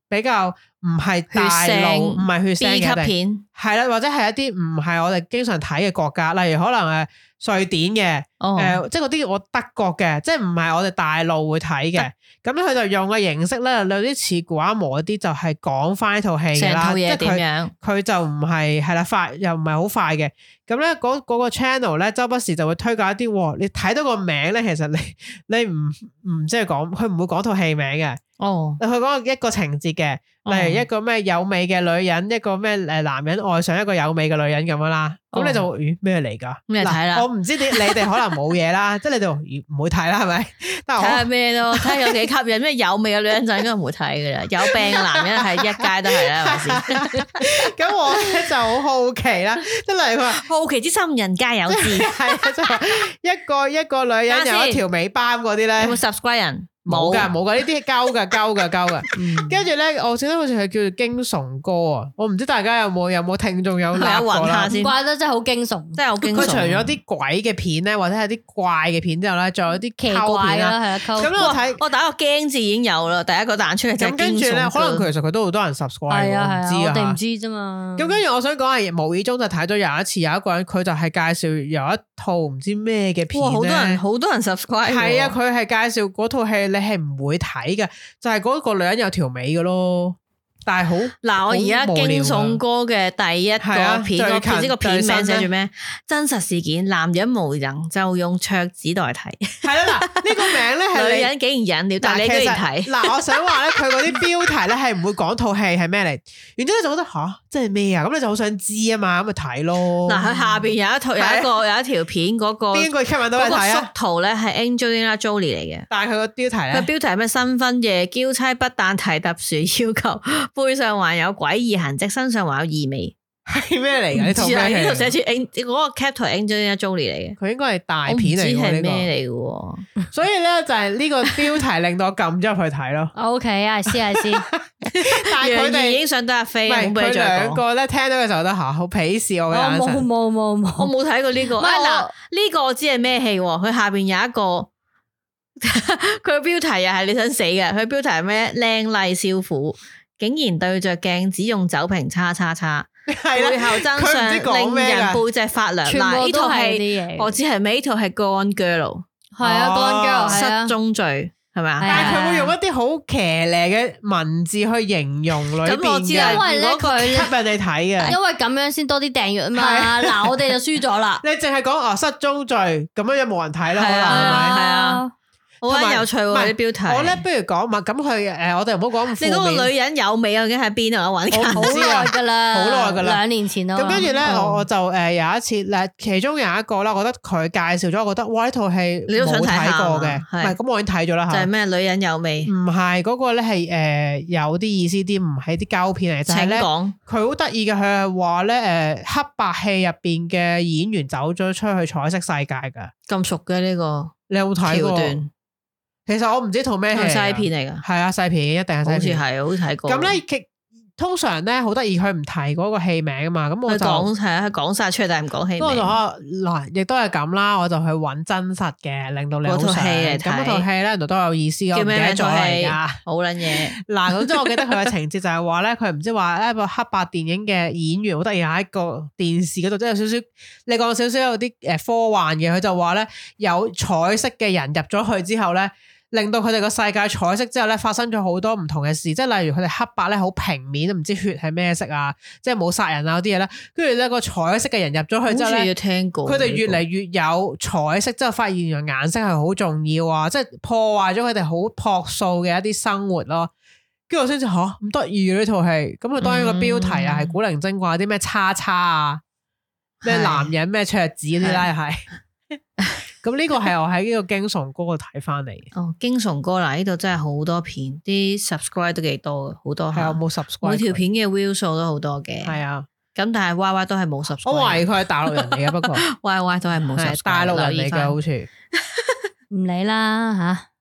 比較唔係大路，唔係血腥嘅 B 級片， 係啦，或者係一啲唔係我哋經常睇嘅國家，例如可能誒瑞典嘅，誒、 哦呃、即係嗰啲我德國嘅，即係唔係我哋大陸會睇嘅。咁佢就用嘅形式咧，有啲似古阿摩嗰啲，就係講翻呢套戲嘅啦。 成套嘢即係佢點樣佢就唔係係啦快，又唔係好快嘅。咁咧嗰嗰個 channel 咧，周不時就會推介一啲，你睇到個名咧，其實你你唔唔即係講，佢唔會講套戲名嘅。 哦， 佢講一個情節嘅，例如一個咩有美嘅女人，一個咩誒男人愛上一個有美嘅女人咁樣啦。咁、哦、你就咦咩嚟㗎？ 咩睇啦？ 我唔知你你哋可能冇嘢啦，即係你哋唔會睇啦，係咪？睇下咩咯？睇下有幾吸引，咩有味嘅女人就應該唔會睇㗎啦。有病嘅男人係一街都係啦，係咪先？ 咁我咧就好好奇啦，即係例如佢話好奇之心人皆有之， 係啊，即係一個一個女人有一條尾巴嗰啲咧， 有冇 subscribe 人？ 冇噶，冇噶，呢啲係鳩噶，鳩噶，鳩噶。跟住咧，我記得好似係叫做驚悚歌啊！我唔知大家有冇有冇聽眾有諗過啦。 唔怪得真係好驚悚， 真係好驚悚。 佢除咗啲鬼嘅片咧，或者係啲怪嘅片之後咧，仲有啲奇怪啦，係啊， 咁我睇我打個驚字已經有啦，第一個彈出嚟就咁跟住咧，可能其實佢都好多人 subscribe， 係啊係啊，我哋唔知啫嘛。 咁跟住我想講係無意中就睇咗有一次有一個人佢就係介紹有一套唔知咩嘅片咧， 好多人好多人 subscribe。 係啊，佢係介紹嗰套戲，你係唔會睇。睇嘅就係嗰個女人有條尾嘅咯，但係好嗱，我而家驚悚歌嘅第一個片，我唔知個片名寫住咩？真實事件，男人無能就用桌子代替。 係啦，嗱呢個名咧係女人竟然忍了，但係你居然睇。 嗱，我想話咧，佢嗰啲標題咧係唔會講套戲係咩嚟，然之後就覺得吓，即係咩啊？咁你就好想知啊嘛，咁咪睇咯。嗱， 佢下邊有一套有一個有一條片，嗰個邊個吸引到你睇啊？ 幅圖咧係 Angelina Jolie 嚟嘅， 但係佢個標題咧， 佢標題係咩？新婚夜嬌妻不但提特殊要求，背上還有詭異痕跡，身上還有異味， 係咩嚟㗎？呢套咩？ 呢度寫住嗰個 caption Angelina Jolie 嚟嘅， 佢應該係大片嚟嘅。唔知係咩嚟嘅， 所以咧就係呢個標題令到我撳咗入去睇咯。 OK，I see，I see。 但係佢哋已經上得阿飛， 唔係佢兩個咧聽到嘅時候都吓好鄙視我嘅眼神。 冇冇冇冇， 我冇睇過呢個。嗱，呢個我知係咩戲？佢下邊有一個。佢個標題又係你想死嘅，佢標題係咩？靚麗少婦竟然對着鏡子用酒瓶叉叉叉，背後真相令人背脊發涼。嗱，呢套戲我知係咩？呢套係 Gone Girl， 係啊 Gone Girl 失蹤罪係咪啊？ 但係佢會用一啲好騎呢嘅文字去形容裏邊嘅， 咁我知啦， 因為咧佢吸引你睇嘅， 因為咁樣先多啲訂閱啊嘛。嗱，我哋就輸咗啦。 你淨係講哦失蹤罪，咁樣有冇人睇啦？可能係咪？ 係啊。好有趣喎啲標題。 我咧不如講嘛，咁佢誒，我哋唔好講。 你嗰個女人有味究竟喺邊啊？我揾緊。 好耐噶啦，好耐噶啦， 兩年前咯。 咁跟住咧，我我就誒有一次咧，其中有一個啦，我覺得佢介紹咗，我覺得哇呢套戲你都想睇過嘅，唔係咁我已經睇咗啦。 就係咩女人有味？ 唔係嗰個咧係誒有啲意思啲，唔係啲膠片嚟。就係咧，佢好得意嘅，佢係話咧誒黑白戲入邊嘅演員走咗出去彩色世界噶。 咁熟嘅呢個， 你有冇睇過？其實我唔知套咩戲， 西片嚟噶， 係啊，西片一定係西片， 好似係，好似睇過。 咁咧，其通常咧好得意，佢唔提嗰個戲名啊嘛，咁我就講係啊，佢講晒出嚟，但係唔講戲名。 咁我就嗱，亦都係咁啦，我就去揾真實嘅，令到你好想。嗰套戲嚟睇，咁嗰套戲咧，原來都有意思。叫咩名？套戲好撚嘢。 嗱，總之我記得佢嘅情節就係話咧，佢唔知話一部黑白電影嘅演員好得意喺一個電視嗰度，即係有少少，你講少少有啲誒科幻嘅，佢就話咧有彩色嘅人入咗去之後咧。令到佢哋個世界彩色之後咧，發生咗好多唔同嘅事，即係例如佢哋黑白咧好平面，唔知血係咩色啊，即係冇殺人啊嗰啲嘢咧。跟住咧個彩色嘅人入咗去之後咧，佢哋越嚟越有彩色，之後發現原來顏色係好重要啊，即係破壞咗佢哋好樸素嘅一啲生活咯。跟住我先知吓咁得意嘅呢套戲，咁佢當然個標題啊係古靈精怪啲咩叉叉啊，咩男人咩桌子嗰啲啦係。咁呢個係我喺呢個驚悚歌度睇翻嚟。 哦，驚悚歌嗱，呢度真係好多片，啲 subscribe 都幾多嘅，好多係啊，冇 subscribe， 每條片嘅 view 數都好多嘅。 係啊， 咁但係 Y Y 都係冇 subscribe。 我懷疑佢係大陸人嚟嘅，不過 Y Y 都係冇 subscribe。 大陸人嚟嘅好似。 唔理啦吓。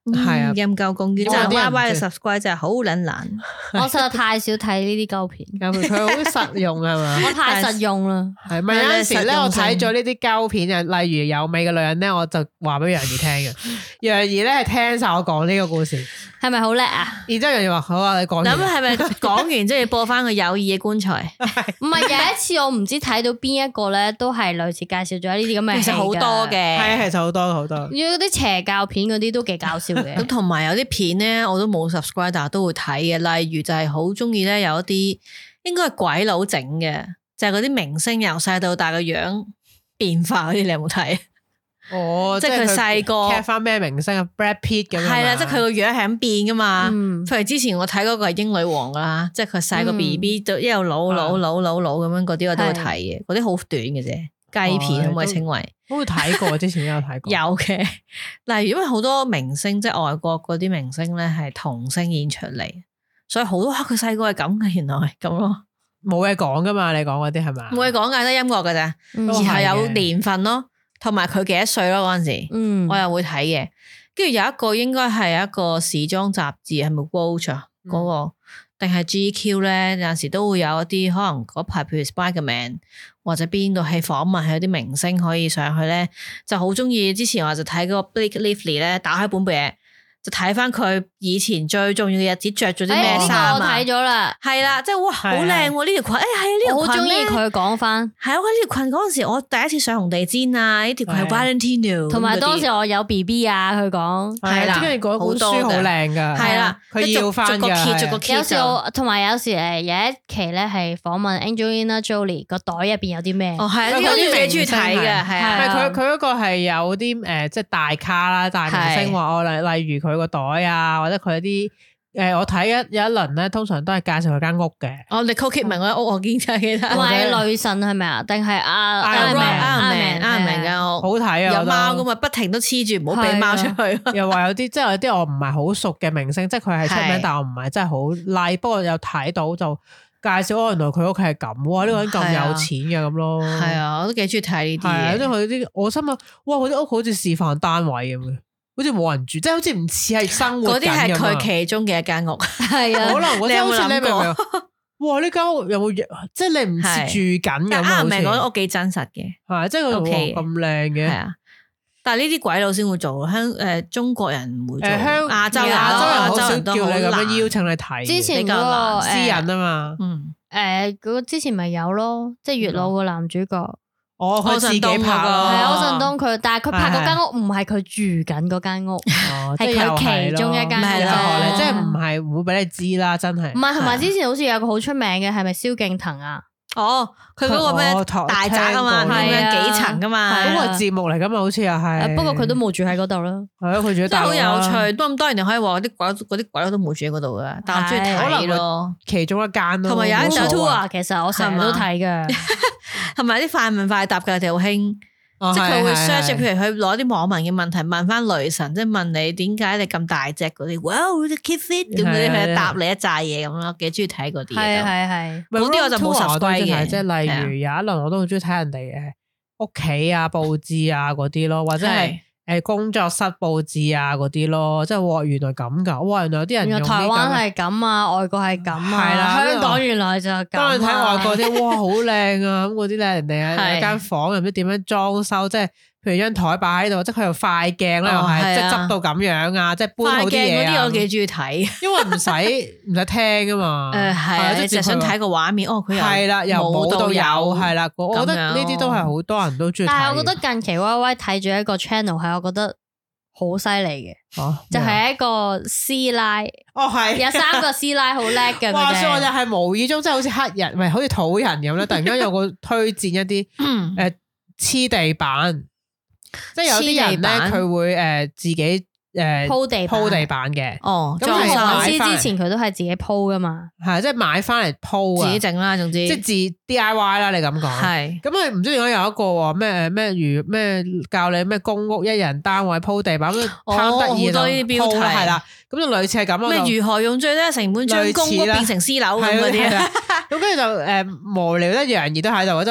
係啊， 陰鳩公園就 Y Y 嘅 subscribe 真係好撚難。 我實在太少睇呢啲膠片， 佢好實用係嘛？ 我太實用啦。 係咪有陣時咧？我睇咗呢啲膠片啊，例如有味嘅女人咧，我就話俾楊怡聽嘅。楊怡咧係聽晒我講呢個故事， 係咪好叻啊？ 然之後楊怡話好啊，你講。咁係咪講完即係要播翻個友誼嘅棺材？ 唔係有一次我唔知睇到邊一個咧，都係類似介紹咗呢啲咁嘅。 其實好多嘅， 係啊，其實好多好多。 要啲邪教片嗰啲都幾搞笑嘅。 咁同埋有啲片咧，我都冇 subscribe，但係都會睇嘅。例如就係好中意咧，有一啲應該係鬼佬整嘅，就係嗰啲明星由細到大個樣變化嗰啲，你有冇睇？ 哦， 即係佢細個 cap 翻咩明星啊 Brad Pitt 咁樣。係啦，即係佢個樣係咁變噶嘛。 嗯、 譬如之前我睇嗰個係英女王啦，即係佢細個 B B 就一路老老老老老咁樣嗰啲，我都會睇嘅。嗰啲好短嘅啫，雞片可唔可以稱為？ 我會睇過，之前都有睇過。 有嘅，例如因為好多明星即係外國嗰啲明星咧係童星演出嚟，所以好多佢細個係咁嘅，原來係咁咯。 冇嘢講噶嘛？你講嗰啲係咪？ 冇嘢講噶，得音樂噶咋， 嗯、 然後有年份咯。同埋佢幾多歲咯嗰陣時，嗯、我又會睇嘅。跟住有一個應該係一個時裝雜誌，係咪 Vogue 啊？嗰、嗯、個定係 G Q 咧？有陣時都會有一啲可能嗰排，譬如 Spiderman 或者邊度係訪問，係有啲明星可以上去咧，就好中意。之前我就睇嗰個 Blake Lively 咧，打開本嘢就睇翻佢以前最重要嘅日子着咗啲咩衫啊！ 我睇咗啦， 係啦，即係哇，好靚喎呢條裙！誒係啊，呢條裙我好中意佢講翻。 係啊，呢條裙嗰陣時我第一次上紅地氈啊，呢條裙係 Valentino， 同埋當時我有 B B 啊，佢講係啦，跟住嗰本書好靚噶， 係啦， 佢要翻逐個揭，逐個揭。 有時我同埋有時誒有一期咧係訪問 Angelina Jolie 個袋入邊有啲咩？ 哦係啊，呢個都幾中意睇嘅，係啊。 係佢佢嗰個係有啲誒即係大咖啦，大明星話我例例如佢個袋啊。或者佢啲誒，我睇一有一輪咧，通常都係介紹佢間屋嘅。 哦，你 Nicole Kidman 嗰間屋我見真係記得。 同埋女神係咪啊？定係阿阿明阿明阿明間屋好睇啊！ 有貓噶嘛，不停都黐住，唔好俾貓出去。 又話有啲即係有啲我唔係好熟嘅明星，即係佢係出名，但係我唔係真係好 like。不過有睇到就介紹，哦，原來佢屋企係咁，哇！呢個人咁有錢嘅咁咯。係啊，我都幾中意睇呢啲嘢。 即係佢啲，我心諗，哇！佢啲屋好似示範單位咁嘅。好似冇人住，即係好似唔似係生活緊咁。嗰啲係佢其中嘅一間屋，係啊。可能我真係好似你明唔明？哇！呢間屋有冇即係你唔似住緊咁？啱唔明嗰間屋幾真實嘅，係即係佢咁靚嘅。係啊，但係呢啲鬼佬先會做，香誒中國人唔會做。誒香亞洲亞洲人好少叫你咁樣邀請你睇。之前嗰個私隱啊嘛，嗯誒嗰個之前咪有咯，即係月老個男主角。哦，佢自己拍咯，係啊，柯震東佢，但係佢拍嗰間屋唔係佢住緊嗰間屋，係佢其中一間屋啫， 即係唔係唔會俾你知啦，真係。 唔係，同埋之前好似有個好出名嘅，係咪蕭敬騰啊？ 哦，佢嗰個咩大宅啊嘛，係啊，幾層噶嘛， 嗰個節目嚟噶嘛，好似又係。 不過佢都冇住喺嗰度啦。 係啊，佢住喺大。 真係好有趣，都咁多人哋可以話啲鬼嗰啲鬼都冇住喺嗰度噶，但係中意睇咯， 其中一間咯。 同埋有一首 tour， 其實我成日都睇噶。 同埋啲快問快答嘅，佢哋好興。哦、即係佢會 search，譬如佢攞啲網民嘅問題問翻雷神，即係問你點解你咁大隻嗰啲，哇，keep fit 咁嗰啲，佢答你一紮嘢咁咯，幾中意睇嗰啲。係係係，嗰啲我就冇 subscribe 嘅。即係例如有一輪我都好中意睇人哋嘅屋企啊佈置啊嗰啲咯，或者係誒工作室佈置啊嗰啲咯，即係哇原來咁噶，哇原來有啲人用呢台灣係咁啊，外國係咁啊，係啦，香港原來就咁。當你睇外國啲，哇好靚啊，咁嗰啲咧，人哋喺間房又唔知點樣裝修，即係譬如張台擺喺度，即係佢又快鏡啦，又係即係執到咁樣啊，即係搬好啲嘢啊。快鏡嗰啲我幾中意睇，因為唔使唔使聽啊嘛。誒係，你就想睇個畫面，哦佢又係啦，由冇到有，係啦，我覺得呢啲都係好多人都中意睇。但係我覺得近期 Y Y 睇住一個 channel 係，我覺得好犀利嘅，就係一個師奶。哦係，有三個師奶好叻嘅。話說我就係無意中，即係好似黑人，唔係好似土人咁咧，突然間有個推薦一啲誒黐地板。即係有啲人咧，佢會誒自己誒鋪地鋪地板嘅。哦，咁何韻詩之前佢都係自己鋪噶嘛，係即係買翻嚟鋪啊，自己整啦，總之即係自 D I Y 啦。你咁講係咁佢唔知點解有一個咩咩如咩教你咩公屋一人單位鋪地板咁貪得意咯，鋪係啦，咁就類似係咁咯。咩如何用最低成本將公屋變成私樓咁嗰啲，咁跟住就誒無聊一樣嘢都喺度，即係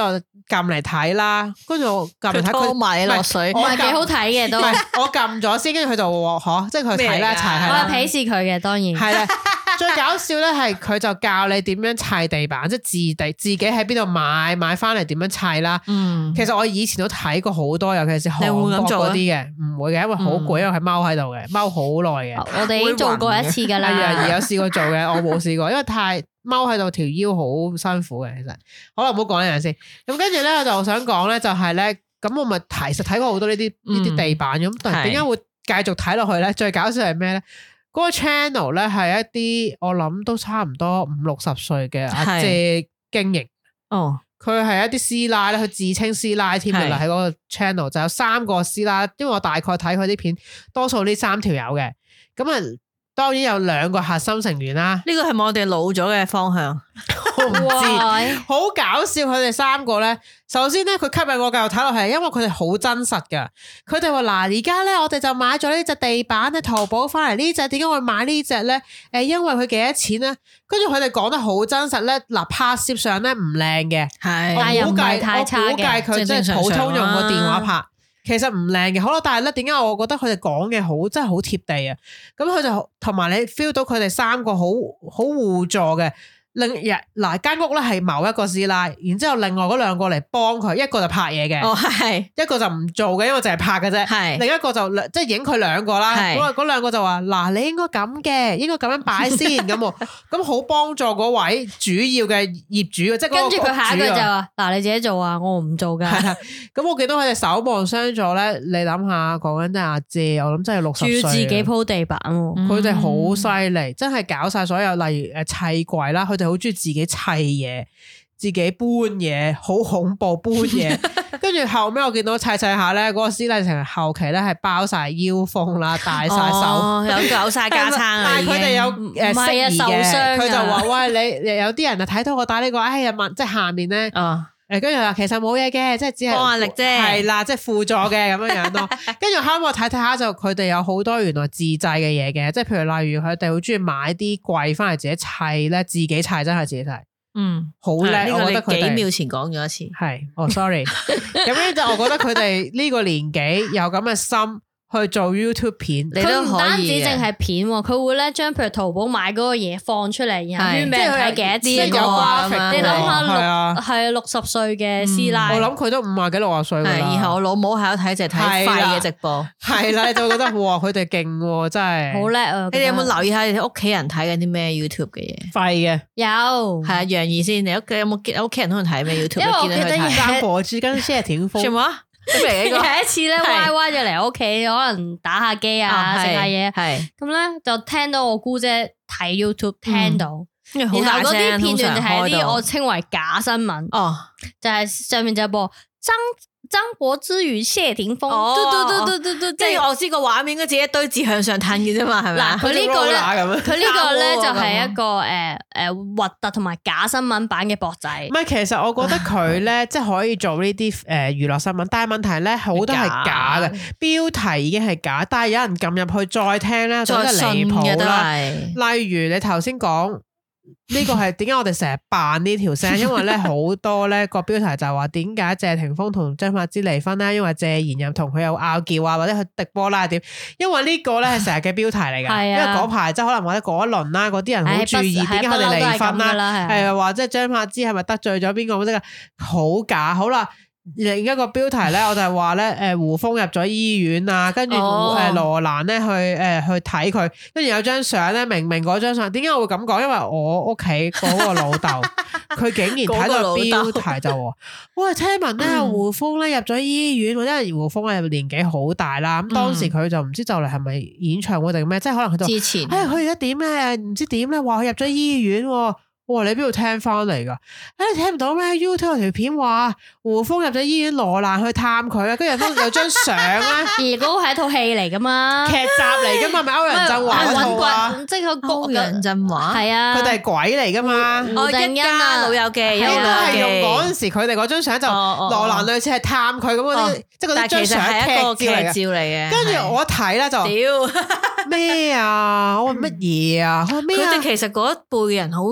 撳嚟睇啦，跟住我撳嚟睇佢埋落水， 唔係幾好睇嘅都。 我撳咗先，跟住佢就話嚇，即係佢睇啦一齊係啦。 我係鄙視佢嘅，當然係啦。最搞笑咧係佢就教你點樣砌地板，即係自地自己喺邊度買買翻嚟點樣砌啦。嗯，其實我以前都睇過好多，尤其是韓國嗰啲嘅，唔會嘅，因為好攰，因為係踎喺度嘅，踎好耐嘅。 我哋已經做過一次㗎啦。 而有試過做嘅，我冇試過，因為太踎喺度條腰好辛苦嘅。其實好啦，唔好講呢樣先。咁跟住咧，我就想講咧，就係咧，咁我咪其實睇過好多呢啲呢啲地板咁，但係點解會繼續睇落去咧？最搞笑係咩咧？嗰個 channel 咧係一啲我諗都差唔多五六十歲嘅阿姐經營。哦，佢係一啲師奶咧，佢自稱師奶添嘅啦，喺嗰個 channel 就有三個師奶，因為我大概睇佢啲片，多數呢三條友嘅，咁啊。當然有兩個核心成員啦，呢個係咪我哋老咗嘅方向？我唔知，好搞笑佢哋三個咧。首先咧，佢吸引我繼續睇落去，因為佢哋好真實噶。佢哋話嗱，而家咧我哋就買咗呢隻地板咧，淘寶翻嚟呢隻，點解會買呢隻咧？誒，因為佢幾多錢咧？跟住佢哋講得好真實咧。嗱，拍攝上咧唔靚嘅，係，但又唔係太差嘅。我估計佢即係普通用個電話拍。其實唔靚嘅，好啦，但係咧，點解我覺得佢哋講嘅好，真係好貼地啊！咁佢就同埋你 feel 到佢哋三個好好互助嘅。另日嗱間屋咧係某一個師奶，然之後另外嗰兩個嚟幫佢，一個就拍嘢嘅，哦係，一個就唔做嘅，因為淨係拍嘅啫，係，另一個就即係影佢兩個啦，咁啊嗰兩個就話嗱你應該咁嘅，應該咁樣擺先咁，咁好幫助嗰位主要嘅業主嘅，即係跟住佢下一句就話嗱你自己做啊，我唔做噶，咁我見到佢哋守望相助咧，你諗下講緊真係阿姐，我諗真係六十歲，仲要自己鋪地板，佢哋好犀利，真係搞晒所有，例如誒砌櫃啦，佢哋。好中意自己砌嘢，自己搬嘢，好恐怖搬嘢。跟住後尾我見到砌砌下咧，嗰個師奶成日後期咧係包晒腰封啦，戴晒手，哦、有搞晒架撐啊。但係佢哋有誒適宜嘅，佢就話喂你有啲人啊睇到我戴呢、這個，哎呀問即係下面咧。哦誒，跟住話其實冇嘢嘅，即係只係幫壓力啫，係啦，即係輔助嘅咁樣樣咯。跟住後尾我睇睇下就佢哋有好多原來自製嘅嘢嘅，即係譬如例如佢哋好中意買啲櫃翻嚟自己砌咧，自己砌真係自己砌，嗯，好叻。呢個你幾秒前講咗一次，係哦 ，sorry。咁樣就我覺得佢哋呢個年紀有咁嘅心。去做 YouTube 片， 佢唔單止淨係片，佢會咧將譬如淘寶買嗰個嘢放出嚟，然後俾人睇幾多錢個，你諗下六係六十歲嘅師奶， 我諗佢都五廿幾六十歲啦。 然後我老母喺度睇就睇廢嘅直播， 係啦，你就覺得哇，佢哋勁真係好叻啊！ 你哋有冇留意下你哋屋企人睇緊啲咩 YouTube 嘅嘢？ 廢嘅有，係啊，楊怡先，你屋企有冇屋企人可能睇咩 YouTube？ 因為我記得張柏芝跟謝霆鋒。 有一次咧，Y Y 就嚟我屋企，可能打下機啊，食下嘢，咁咧就聽到我姑姐睇 YouTube，聽到，然後嗰啲片段就係啲我稱為假新聞，哦，就係上面就播張張柏芝與謝霆鋒，嘟嘟嘟嘟嘟嘟， 即係我知個畫面應該自己一堆字向上褪嘅啫嘛，係咪？ 嗱，佢呢個咧，佢呢個咧就係一個誒誒核突同埋假新聞版嘅博仔。 唔係，其實我覺得佢咧即係可以做呢啲誒娛樂新聞，但係問題咧好多係假嘅，標題已經係假，但係有人撳入去再聽咧，就真係離譜啦。例如你頭先講。呢個係點解我哋成日扮呢條聲？因為咧好多咧個標題就係話點解謝霆鋒同張柏芝離婚咧？因為謝賢又同佢有拗撬啊，或者佢迪波拉點？因為呢個咧係成日嘅標題嚟噶，因為嗰排即係可能或者嗰一輪啦，嗰啲人好注意點解佢哋離婚啦，係話即係張柏芝係咪得罪咗邊個？即係好假，好啦。另一個標題咧，我就係話咧，誒胡楓入咗醫院啊，跟住誒羅蘭咧去誒去睇佢，跟住有張相咧，明明嗰張相，點解我會咁講？因為我屋企嗰個老豆，佢竟然睇到標題就話，喂，聽聞咧胡楓咧入咗醫院，因為胡楓係年紀好大啦，咁當時佢就唔知就嚟係咪演唱會定咩，即係可能佢就之前，誒佢而家點咧，唔知點咧，話佢入咗醫院。哇！你邊度聽翻嚟噶？誒，你聽唔到咩 ？YouTube 有條片話胡楓入咗醫院，羅蘭去探佢啊，跟住有張相咧。 而嗰個係一套戲嚟噶嘛？ 劇集嚟噶嘛？咪歐陽震華嗰套啊？ 即係個歐陽震華係啊， 佢哋係鬼嚟噶嘛？ 我一家老友記， 應該係用嗰陣時佢哋嗰張相就羅蘭類似係探佢咁嗰啲，即係嗰啲張相係一個劇照嚟嘅。跟住我一睇咧就屌咩啊！我話乜嘢啊？佢哋其實嗰一輩嘅人好真係。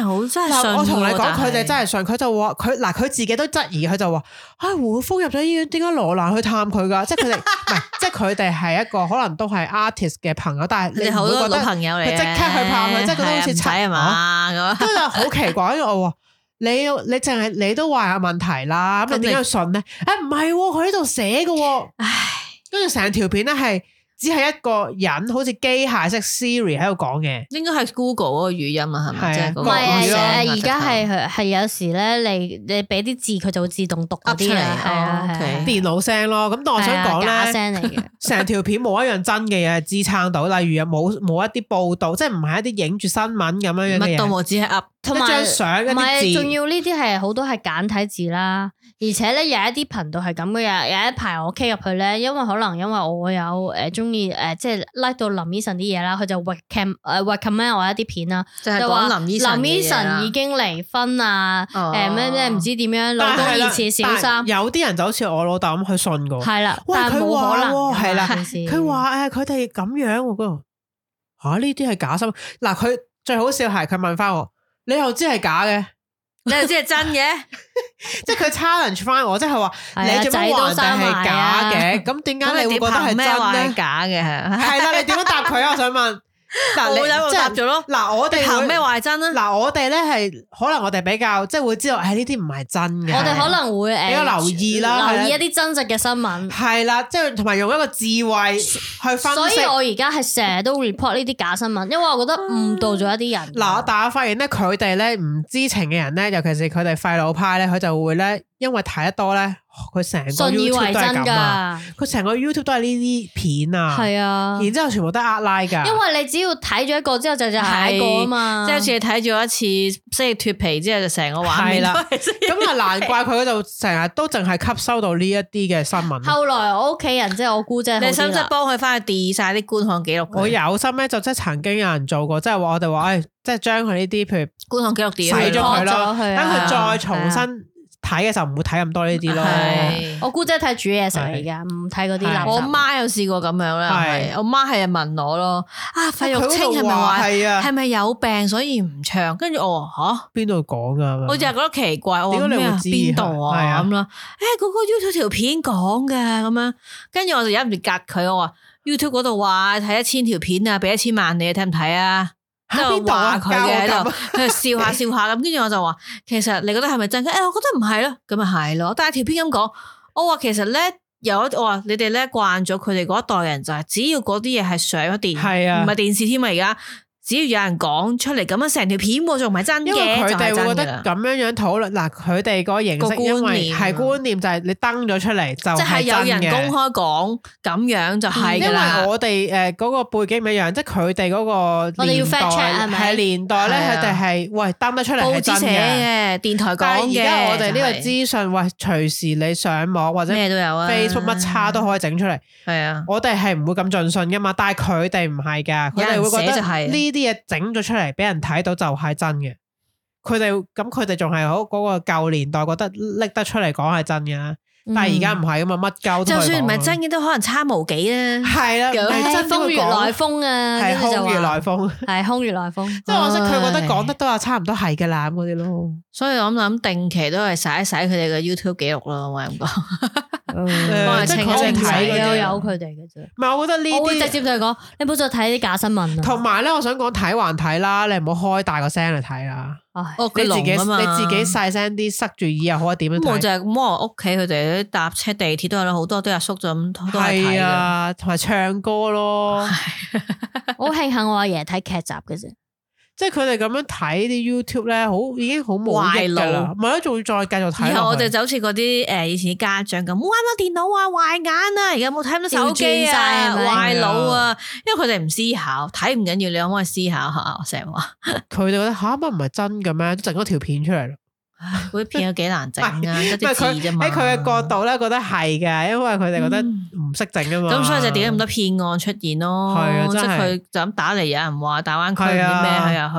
好真係信。 我同你講，佢哋真係信，佢就話佢嗱，佢自己都質疑，佢就話啊，胡楓入咗醫院，點解羅蘭去探佢噶？即係佢哋唔係，即係佢哋係一個可能都係 artist 嘅朋友，但係你好多老朋友嚟， 佢即刻去探佢，即係覺得好似柒係嘛咁， 真係好奇怪。因為我話你你淨係你都話有問題啦，咁你點解信咧？誒唔係，佢喺度寫嘅，唉，跟住成條片咧係。只係一個人好似機械式 Siri 喺度講嘅， 應該係 Google 嗰個語音啊，係咪？即係唔係啊，而家係係有時咧，你你俾啲字佢就會自動讀嗰啲嚟，係啊， 電腦聲咯。咁但我想講咧， 假聲嚟嘅， 成條片冇一樣真嘅嘢係支撐到，例如有冇冇一啲報道，即係唔係一啲影住新聞咁樣樣嘅嘢， 乜都冇，只係 up 同埋張相一啲字， 仲要呢啲係好多係簡體字啦。而且咧有一啲頻道係咁嘅，有有一排我 K 入去咧，因為可能因為我有誒中意誒即係 like 到林醫生啲嘢啦，佢就 recommend 誒 recommend 我一啲片啦， 就係講林醫生林醫生已經離婚啊，誒咩咩唔知點樣，老公疑似小三， 有啲人就好似我老豆咁去信過， 係啦， 喂但係冇可能係啦，佢話誒佢哋咁樣嗰度吓呢啲係假新聞，嗱佢最好笑係佢問翻我，你又知係假嘅？ 你又知係真嘅， 即係佢 challenge 翻我，即係話你做乜話定係假嘅？咁點解你會覺得係真咧？ 假嘅係係啦，你點樣答佢啊？我想問。嗱，你即係答咗咯。 嗱，我哋憑咩話係真啊？ 嗱，我哋咧係可能我哋比較即係會知道，誒呢啲唔係真嘅。 我哋可能會誒比較留意啦， 留意一啲真實嘅新聞。 係啦，即係同埋用一個智慧去分析。 所以我而家係成日都 report 呢啲假新聞，因為我覺得誤導咗一啲人。 嗱，但係我發現咧，佢哋咧唔知情嘅人咧，尤其是佢哋廢老派咧，佢就會咧，因為睇得多咧。佢成個 YouTube 都係咁啊！佢成個 YouTube 都係呢啲片啊，係啊，然之後全部都係呃拉噶。 因為你只要睇咗一個之後就就下一個啊嘛， 即係好似你睇咗一次即係脫皮之後就成個畫面啦。 咁啊難怪佢嗰度成日都淨係吸收到呢一啲嘅新聞。 後來我屋企人即係我姑姐， 你使唔使幫佢翻去 delete 晒啲觀看記錄？ 我有心咧，就即係曾經有人做過，即係話我哋話誒，即係將佢呢啲譬如觀看記錄 delete 洗咗佢咯，等佢再重新。睇嘅時候唔會睇咁多呢啲咯， 我姑姐睇煮嘢食嚟噶，唔睇嗰啲垃圾。 我媽有試過咁樣啦，我媽係問我咯，啊費玉清係咪話係咪有病所以唔唱？跟住我話吓邊度講噶？我就係覺得奇怪，我話咩啊？邊度啊？咁啦，誒嗰個 YouTube 條片講嘅咁樣，跟住我就忍唔住夾佢，我話 YouTube 嗰度話睇一千條片啊，俾一千萬你睇唔睇啊？即係話佢嘅喺度，佢笑下笑下咁，跟住我就話，其實你覺得係咪真？誒、欸，我覺得唔係咯，咁咪係咯。但係條片咁講，我話其實咧有，我話你哋咧慣咗佢哋嗰一代人就係，只要嗰啲嘢係上咗電，係啊，唔係電視添啊而家。只要有人講出嚟咁樣成條片喎，仲唔係真嘅？因為佢哋會覺得咁樣樣討論，嗱佢哋個形式因為係觀念就係你登咗出嚟就係有人公開講咁樣就係㗎啦。 因為我哋誒嗰個背景唔一樣，即係佢哋嗰個年代係年代咧，佢哋係喂登得出嚟係真嘅， 電台講嘅。 但係而家我哋呢個資訊，喂隨時你上網或者咩都有啊 ，Facebook 乜叉都可以整出嚟。係啊，我哋係唔會咁盡信㗎嘛，但係佢哋唔係㗎，佢哋會覺得呢啲嘢整咗出嚟俾人睇到就係真嘅，佢哋咁佢哋仲係好嗰個舊年代覺得拎得出嚟講係真嘅，但係而家唔係咁啊，乜鳩都係講。就算唔係真嘅都可能差無幾啦。係啦， 係風月來風啊， 係空穴來風， 係空穴來風。 即係我識佢覺得講得都話差唔多係噶啦咁嗰啲咯。 所以我諗定期都係洗一洗佢哋嘅 YouTube 記錄咯，我咁講。 即係佢睇有有佢哋嘅啫。 唔係，我覺得呢啲我會直接同佢講，你唔好再睇啲假新聞。 同埋咧，我想講睇還睇啦，你唔好開大個聲嚟睇啦。 哦， 你自己你自己細聲啲，塞住耳又好點樣睇？ 我就係咁，我屋企佢哋搭車地鐵都有好多都有縮咗咁都係睇啊，同埋唱歌咯。 我好慶幸我阿爺睇劇集嘅啫。 即係佢哋咁樣睇啲 YouTube 咧，好已經好冇益噶啦，唔係咯，仲要再繼續睇。 然後我哋就好似嗰啲誒以前啲家長咁，玩咗電腦啊，壞眼啊，而家冇睇到手機啊，壞腦啊，因為佢哋唔思考，睇唔緊要，你可唔可以思考下？我成日話， 佢哋覺得吓乜唔係真嘅咩？整咗條片出嚟咯。 嗰啲片有幾難整啊，得啲字啫嘛。 喺佢嘅角度咧，覺得係嘅，因為佢哋覺得唔識整啊嘛。 咁所以就點解咁多騙案出現咯？係啊，即係佢就咁打嚟，有人話大灣區啲咩，佢又去。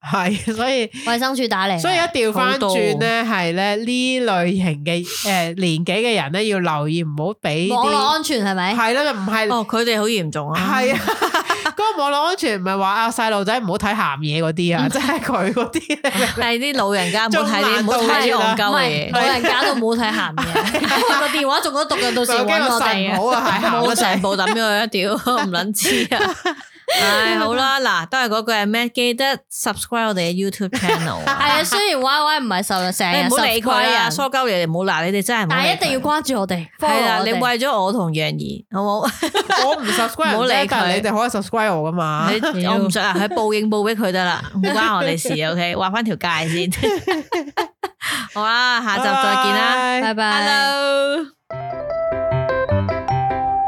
係，所以衛生署打嚟， 所以一調翻轉咧，係咧呢類型嘅誒年紀嘅人咧要留意，唔好俾網絡安全係咪？ 係啦，唔係哦，佢哋好嚴重啊！ 係啊，嗰個網絡安全唔係話啊細路仔唔好睇鹹嘢嗰啲啊，即係佢嗰啲係啲老人家唔好睇啲唔好睇啲戇鳩嘅嘢， 老人家都唔好睇鹹嘢，個電話仲都讀緊，到時揾我哋啊！ 好啊，係冇成部抌咗佢一屌，唔撚知啊！唉，好啦，嗱，都係嗰句係咩？記得 subscribe 我哋嘅 YouTube channel。係啊，雖然 Y Y 唔係受成日， 唔好理佢啊，疏鳩你哋唔好鬧，你哋真係唔好。但係一定要關注我哋。 係啦，你為咗我同楊怡，好冇？ 我唔 subscribe，唔好理佢，你哋可以 subscribe 我噶嘛。 我唔想啊，佢報應報俾佢得啦，唔關我哋事。OK， 畫翻條界先。好啦，下集再見啦， 拜拜。 Hello。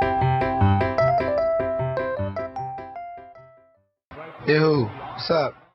Yo, what's up?